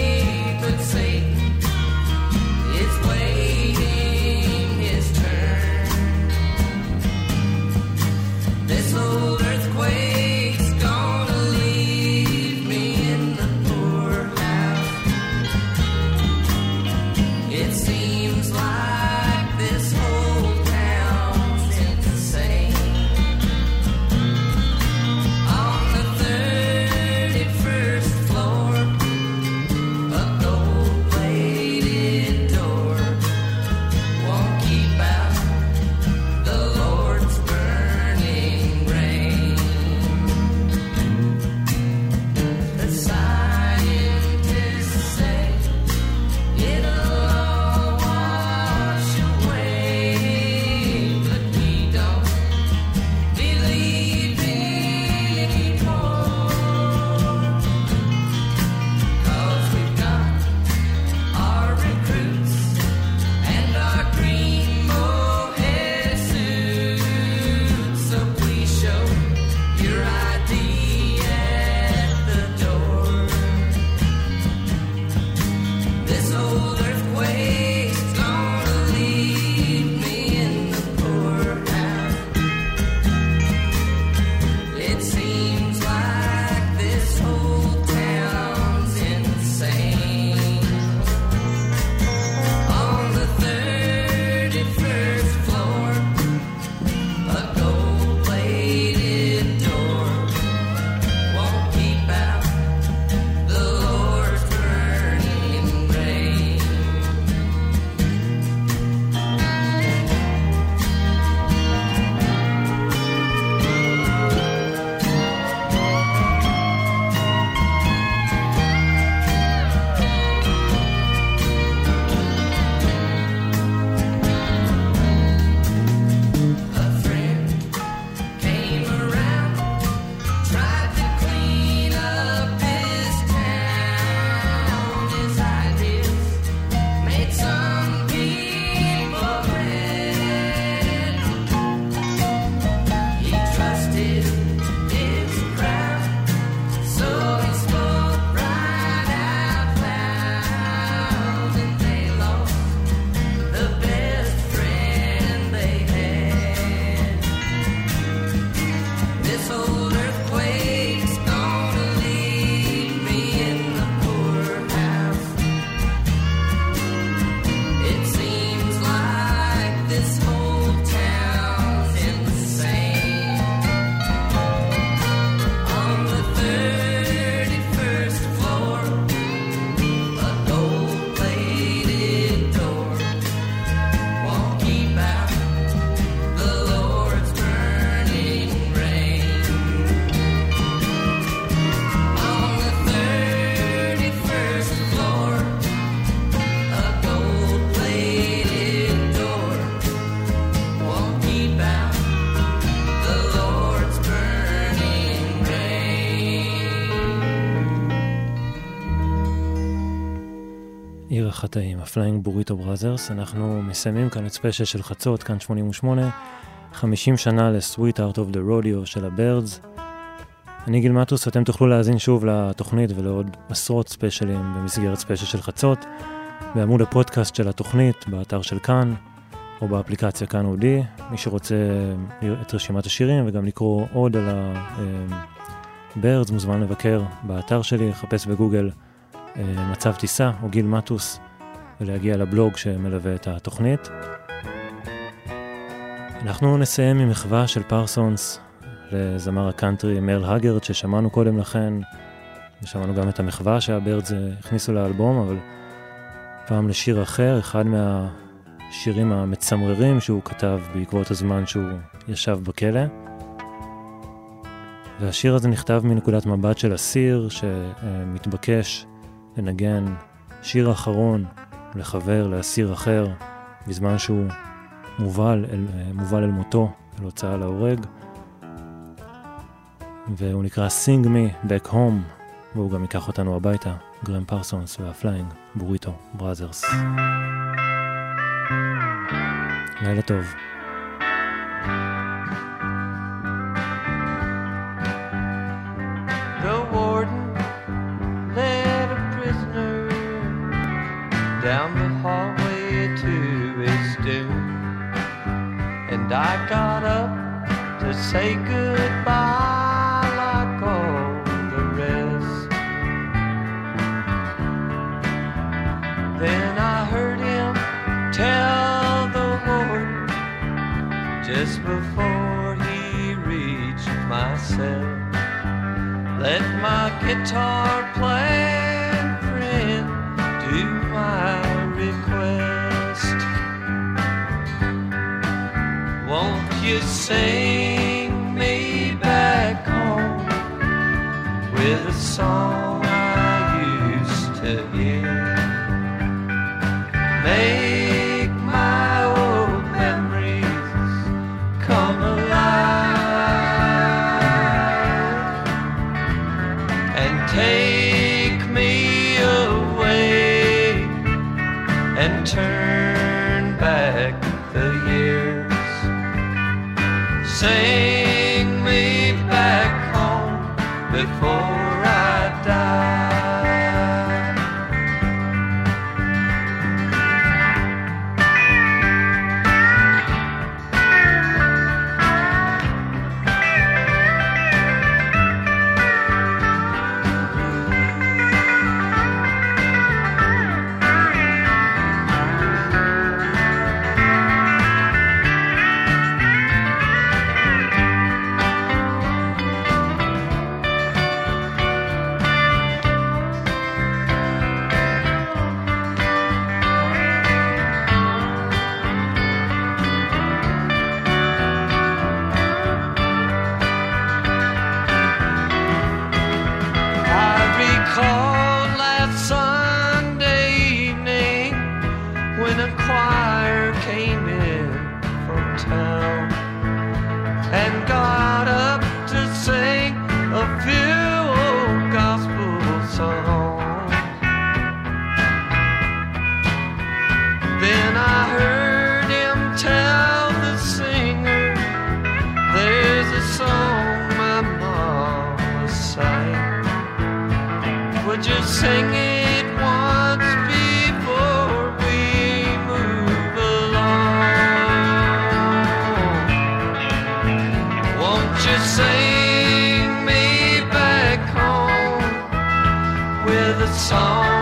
החטאים, הפליינג בוריטו בראזרס. אנחנו מסיימים כאן את ספיישל של חצות, כאן 88, 50 שנה ל-Sweet Heart of the Rodeo של הבירדס. אני גיל מטוס, אתם תוכלו להאזין שוב לתוכנית ולעוד עשרות ספיישלים במסגרת ספיישל של חצות, בעמוד הפודקאסט של התוכנית, באתר של כאן, או באפליקציה כאן אודי. מי שרוצה את רשימת השירים וגם לקרוא עוד על הבירדס, מוזמן לבקר באתר שלי, לחפש בגוגל מצב טיסה או גיל מטוס, ולהגיע לבלוג שמלווה את התוכנית. אנחנו נסיים ממחווה של פרסונס לזמר הקאנטרי מרל הגרד ששמענו קודם לכן, ושמענו גם את המחווה שהבירדס הכניסו לאלבום, אבל פעם לשיר אחר, אחד מהשירים המצמררים שהוא כתב בעקבות הזמן שהוא ישב בכלא. והשיר הזה נכתב מנקודת מבט של אסיר שמתבקש לנגן שיר אחרון לחבר, לאסיר אחר, בזמן שהוא מובל אל מותו, אל הוצאה להורג. והוא נקרא Sing Me Back Home, והוא גם ייקח אותנו הביתה, גרם פרסונס והפליינג בוריטו בראזרס. לילה טוב. The warden led a prisoner down the hallway to his doom, and I got up to say goodbye like all the rest. Then I heard him tell the warden just before he reached my cell, let my guitar playing friend do my request. Won't you sing me back home with a song I used to hear? Make my old memories come alive and take me away and turn back the years. Sing me back home before I die. Sing it once before we move along. Won't you sing me back home with a song